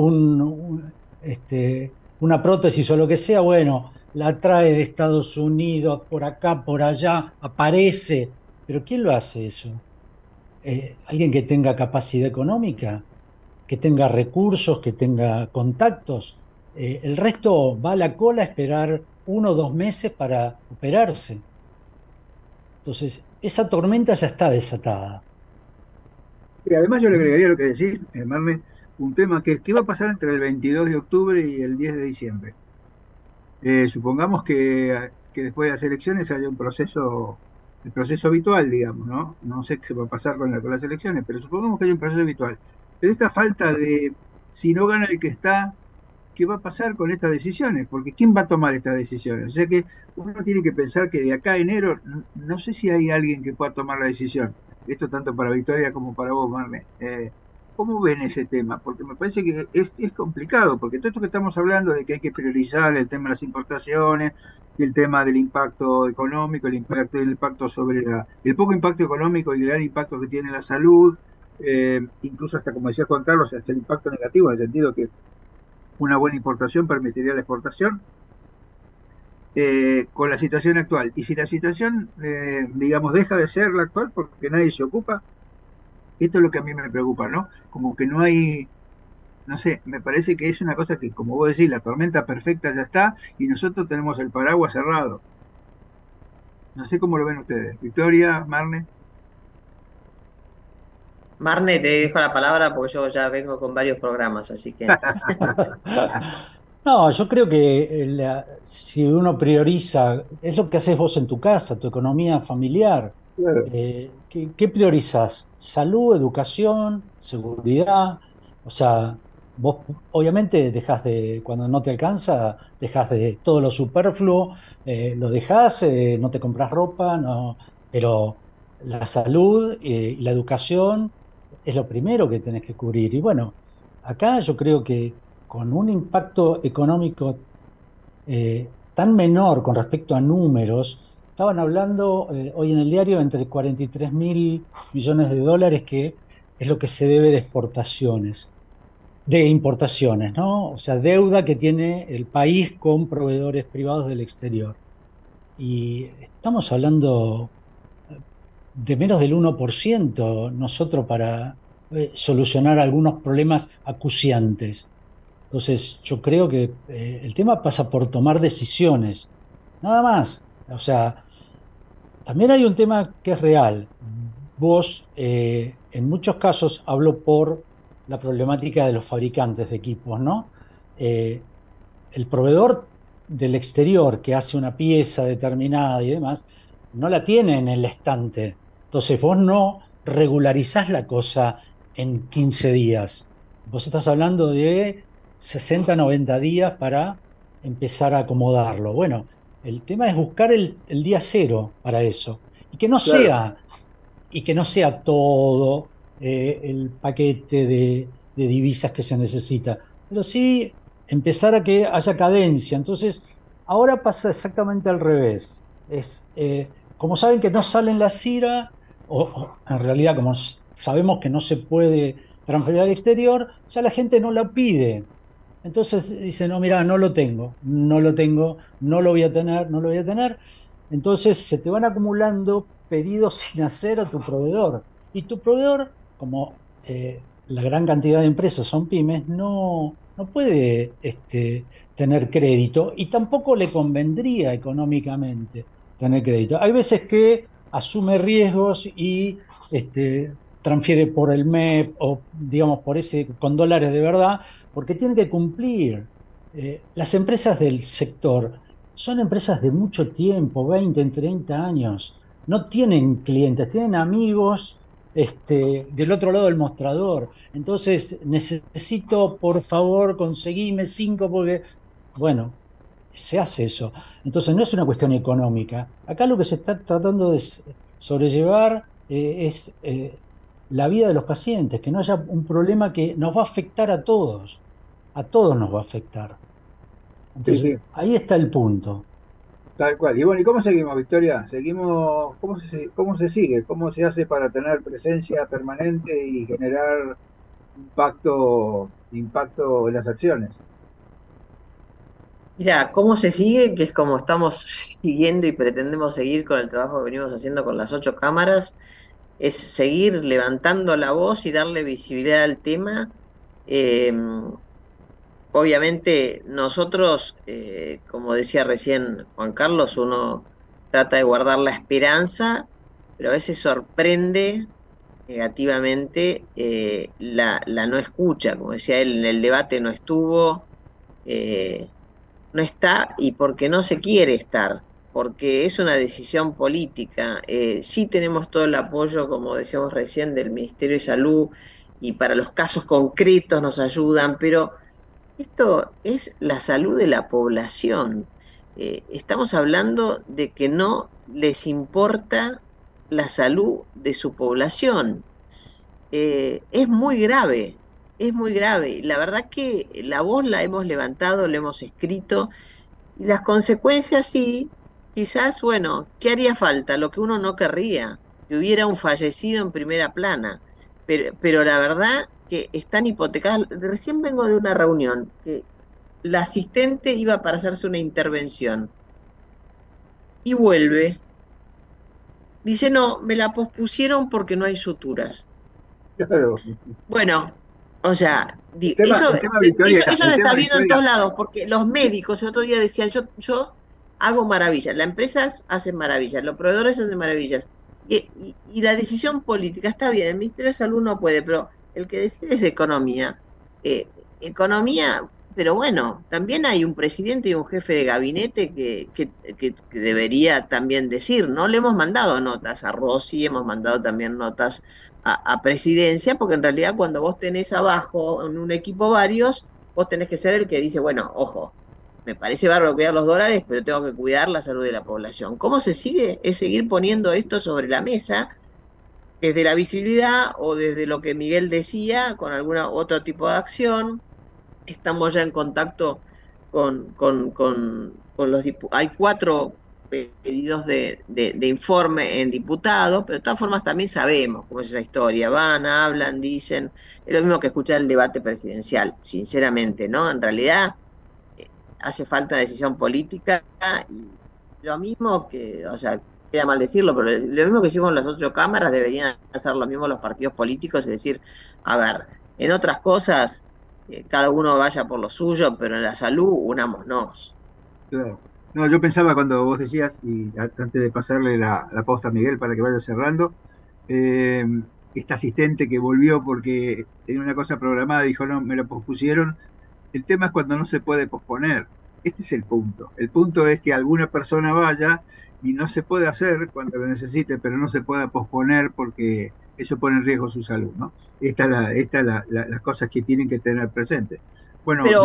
[SPEAKER 14] una prótesis o lo que sea, bueno, la trae de Estados Unidos, por acá, por allá, aparece. ¿Pero quién lo hace eso? ¿Alguien que tenga capacidad económica? ¿Que tenga recursos? ¿Que tenga contactos? El resto va a la cola a esperar 1 o 2 meses para operarse. Entonces, esa tormenta ya está desatada.
[SPEAKER 3] Y además yo le agregaría lo que decís, Marne, un tema que va a pasar entre el 22 de octubre y el 10 de diciembre. Supongamos que después de las elecciones haya un proceso, el proceso habitual, digamos, ¿no? No sé qué se va a pasar con las elecciones, pero supongamos que hay un proceso habitual. Pero esta falta de, si no gana el que está, ¿qué va a pasar con estas decisiones? Porque ¿quién va a tomar estas decisiones? O sea que uno tiene que pensar que de acá a enero, no sé si hay alguien que pueda tomar la decisión. Esto tanto para Victoria como para vos, Marne. ¿Cómo ven ese tema? Porque me parece que es complicado, porque todo esto que estamos hablando de que hay que priorizar el tema de las importaciones, y el tema del impacto económico, el impacto sobre el poco impacto económico y el gran impacto que tiene la salud, incluso hasta, como decía Juan Carlos, hasta el impacto negativo, en el sentido que una buena importación permitiría la exportación, con la situación actual. Y si la situación, digamos, deja de ser la actual porque nadie se ocupa, esto es lo que a mí me preocupa, ¿no? Como que no hay, no sé, me parece que es una cosa que, como vos decís, la tormenta perfecta ya está y nosotros tenemos el paraguas cerrado. No sé cómo lo ven ustedes. Victoria, Marne.
[SPEAKER 4] Marne, te dejo la palabra porque yo ya vengo con varios programas, así que...
[SPEAKER 14] No, yo creo que si uno prioriza, es lo que haces vos en tu casa, tu economía familiar.
[SPEAKER 3] Claro.
[SPEAKER 14] ¿Qué priorizás? Salud, educación, seguridad. O sea, vos obviamente cuando no te alcanza, dejás de todo lo superfluo, lo dejás, no te compras ropa, no, pero la salud y la educación es lo primero que tenés que cubrir. Y bueno, acá yo creo que con un impacto económico tan menor con respecto a números, estaban hablando hoy en el diario entre 43.000 millones de dólares, que es lo que se debe de exportaciones. de importaciones, ¿no? O sea, deuda que tiene el país con proveedores privados del exterior. Y estamos hablando de menos del 1% nosotros para solucionar algunos problemas acuciantes. Entonces, yo creo que el tema pasa por tomar decisiones, nada más. O sea, también hay un tema que es real. Vos, en muchos casos, hablo por la problemática de los fabricantes de equipos, ¿no? El proveedor del exterior que hace una pieza determinada y demás, no la tiene en el estante. Entonces vos no regularizás la cosa en 15 días. Vos estás hablando de 60, 90 días para empezar a acomodarlo. Bueno, el tema es buscar el día cero para eso. Y que no
[SPEAKER 3] Claro.
[SPEAKER 14] sea, y que no sea todo el paquete de divisas que se necesita, pero sí empezar a que haya cadencia. Entonces, ahora pasa exactamente al revés. Como saben que no salen la CIRA, o en realidad como sabemos que no se puede transferir al exterior, ya la gente no la pide. Entonces dice, no, mira, no lo tengo, no lo tengo, no lo voy a tener, no lo voy a tener. Entonces se te van acumulando pedidos sin hacer a tu proveedor. Y tu proveedor, como la gran cantidad de empresas son pymes, no puede tener crédito y tampoco le convendría económicamente tener crédito. Hay veces que asume riesgos y transfiere por el MEP o, digamos, con dólares de verdad, porque tiene que cumplir. Las empresas del sector son empresas de mucho tiempo, 20, 30 años. No tienen clientes, tienen amigos del otro lado del mostrador. Entonces, necesito, por favor, conseguime 5 porque, bueno, se hace eso. Entonces, no es una cuestión económica. Acá lo que se está tratando de sobrellevar es la vida de los pacientes, que no haya un problema que nos va a afectar a todos nos va a afectar. Entonces,
[SPEAKER 3] Sí, sí,
[SPEAKER 14] ahí está el punto.
[SPEAKER 3] tal cual. Y bueno, ¿y cómo seguimos, Victoria? Seguimos, cómo se sigue? ¿Cómo se hace para tener presencia permanente y generar impacto en las acciones?
[SPEAKER 4] Mira, ¿cómo se sigue? Que es como estamos siguiendo y pretendemos seguir con el trabajo que venimos haciendo con las 8 cámaras, es seguir levantando la voz y darle visibilidad al tema. Eh, Obviamente nosotros, como decía recién Juan Carlos, uno trata de guardar la esperanza, pero a veces sorprende negativamente la no escucha. Como decía él, en el debate no estuvo, no está y porque no se quiere estar, porque es una decisión política. Sí tenemos todo el apoyo, como decíamos recién, del Ministerio de Salud y para los casos concretos nos ayudan, pero esto es la salud de la población. Estamos hablando de que no les importa la salud de su población. Es muy grave, es muy grave. La verdad que la voz la hemos levantado, la hemos escrito, y las consecuencias sí, quizás, bueno, ¿qué haría falta? Lo que uno no querría, que hubiera un fallecido en primera plana, pero la verdad que están hipotecadas. Recién vengo de una reunión que la asistente iba para hacerse una intervención y vuelve. Dice, no, me la pospusieron porque no hay suturas.
[SPEAKER 3] Claro.
[SPEAKER 4] Bueno, o sea,
[SPEAKER 3] El tema, Victoria,
[SPEAKER 4] eso se está viendo en todos lados, porque los médicos el otro día decían, yo hago maravillas, las empresas hacen maravillas, los proveedores hacen maravillas, y la decisión política está bien, el Ministerio de Salud no puede, pero el que decide es economía. Economía, pero bueno, también hay un presidente y un jefe de gabinete que debería también decir, ¿no? Le hemos mandado notas a Rossi, hemos mandado también notas a presidencia, porque en realidad cuando vos tenés abajo en un equipo varios, vos tenés que ser el que dice, bueno, ojo, me parece bárbaro cuidar los dólares, pero tengo que cuidar la salud de la población. ¿Cómo se sigue? Es seguir poniendo esto sobre la mesa, desde la visibilidad o desde lo que Miguel decía, con algún otro tipo de acción. Estamos ya en contacto con los diputados. Hay 4 pedidos de informe en diputados, pero de todas formas también sabemos cómo es esa historia. Van, hablan, dicen, es lo mismo que escuchar el debate presidencial, sinceramente, ¿no? En realidad hace falta decisión política y lo mismo que, o sea, queda mal decirlo, pero lo mismo que hicimos las 8 cámaras deberían hacer lo mismo los partidos políticos, es decir, a ver, en otras cosas cada uno vaya por lo suyo, pero en la salud unámonos.
[SPEAKER 3] Claro. No, yo pensaba cuando vos decías, y antes de pasarle la posta a Miguel para que vaya cerrando, esta asistente que volvió porque tenía una cosa programada, dijo, no, me lo pospusieron. El tema es cuando no se puede posponer. Este es el punto. El punto es que alguna persona vaya y no se puede hacer cuando lo necesite, pero no se puede posponer porque eso pone en riesgo su salud, ¿no? Esta es las cosas que tienen que tener presentes. Bueno,
[SPEAKER 4] pero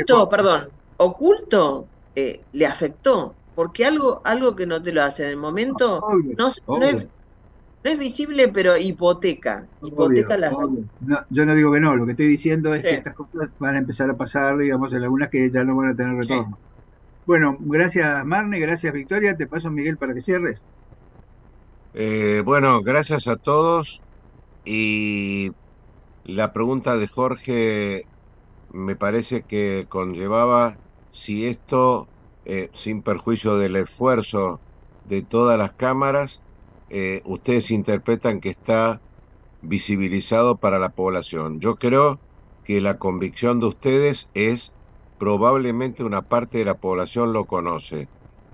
[SPEAKER 4] oculto le afectó, porque algo que no te lo hace en el momento no es visible, pero hipoteca la salud.
[SPEAKER 3] No, yo no digo que no, lo que estoy diciendo es que estas cosas van a empezar a pasar, digamos, en algunas que ya no van a tener retorno. Bueno, gracias Marne, gracias Victoria, te paso Miguel para que cierres.
[SPEAKER 2] Bueno, gracias a todos, y la pregunta de Jorge me parece que conllevaba si esto, sin perjuicio del esfuerzo de todas las cámaras, ustedes interpretan que está visibilizado para la población. Yo creo que la convicción de ustedes probablemente una parte de la población lo conoce.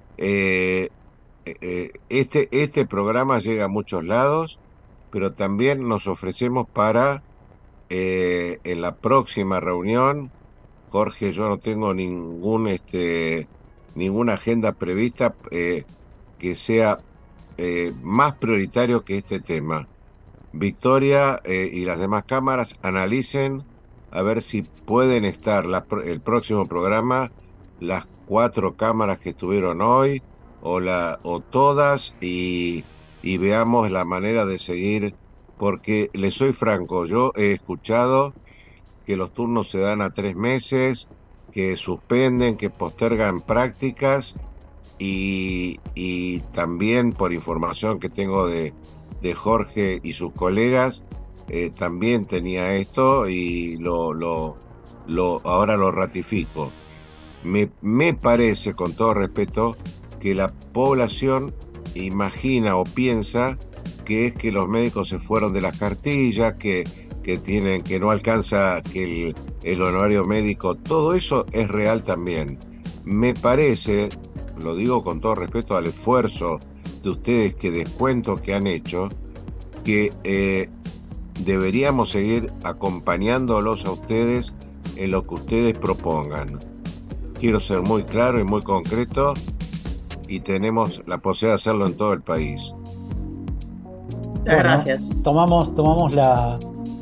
[SPEAKER 2] Este programa llega a muchos lados, pero también nos ofrecemos para en la próxima reunión. Jorge, yo no tengo ninguna agenda prevista que sea más prioritario que este tema. Victoria y las demás cámaras analicen a ver si pueden estar el próximo programa las 4 cámaras que estuvieron hoy o todas, y veamos la manera de seguir, porque les soy franco, yo he escuchado que los turnos se dan a 3 meses, que suspenden, que postergan prácticas, y también por información que tengo de Jorge y sus colegas, también tenía esto y ahora lo ratifico. Me parece, con todo respeto, que la población imagina o piensa que es que los médicos se fueron de las cartillas, que no alcanza que el honorario médico. Todo eso es real también. Me parece, lo digo con todo respeto al esfuerzo de ustedes, que descuento que han hecho, que deberíamos seguir acompañándolos a ustedes en lo que ustedes propongan. Quiero ser muy claro y muy concreto, y tenemos la posibilidad de hacerlo en todo el país.
[SPEAKER 4] Gracias.
[SPEAKER 14] Tomamos la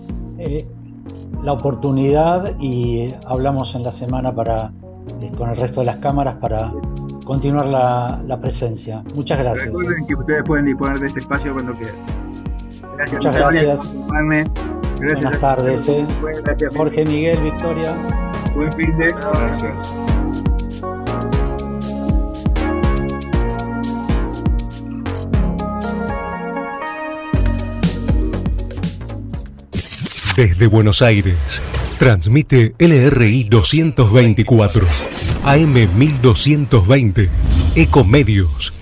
[SPEAKER 14] oportunidad y hablamos en la semana con el resto de las cámaras para continuar la presencia. Muchas gracias.
[SPEAKER 3] Recuerden que ustedes pueden disponer de este espacio cuando quieran. Gracias.
[SPEAKER 14] Muchas gracias.
[SPEAKER 3] Gracias.
[SPEAKER 14] Buenas tardes.
[SPEAKER 3] Gracias,
[SPEAKER 14] Jorge, Miguel, Victoria.
[SPEAKER 3] Buen fin de.
[SPEAKER 2] Gracias.
[SPEAKER 13] Desde Buenos Aires, transmite LRI 224, AM 1220, Ecomedios.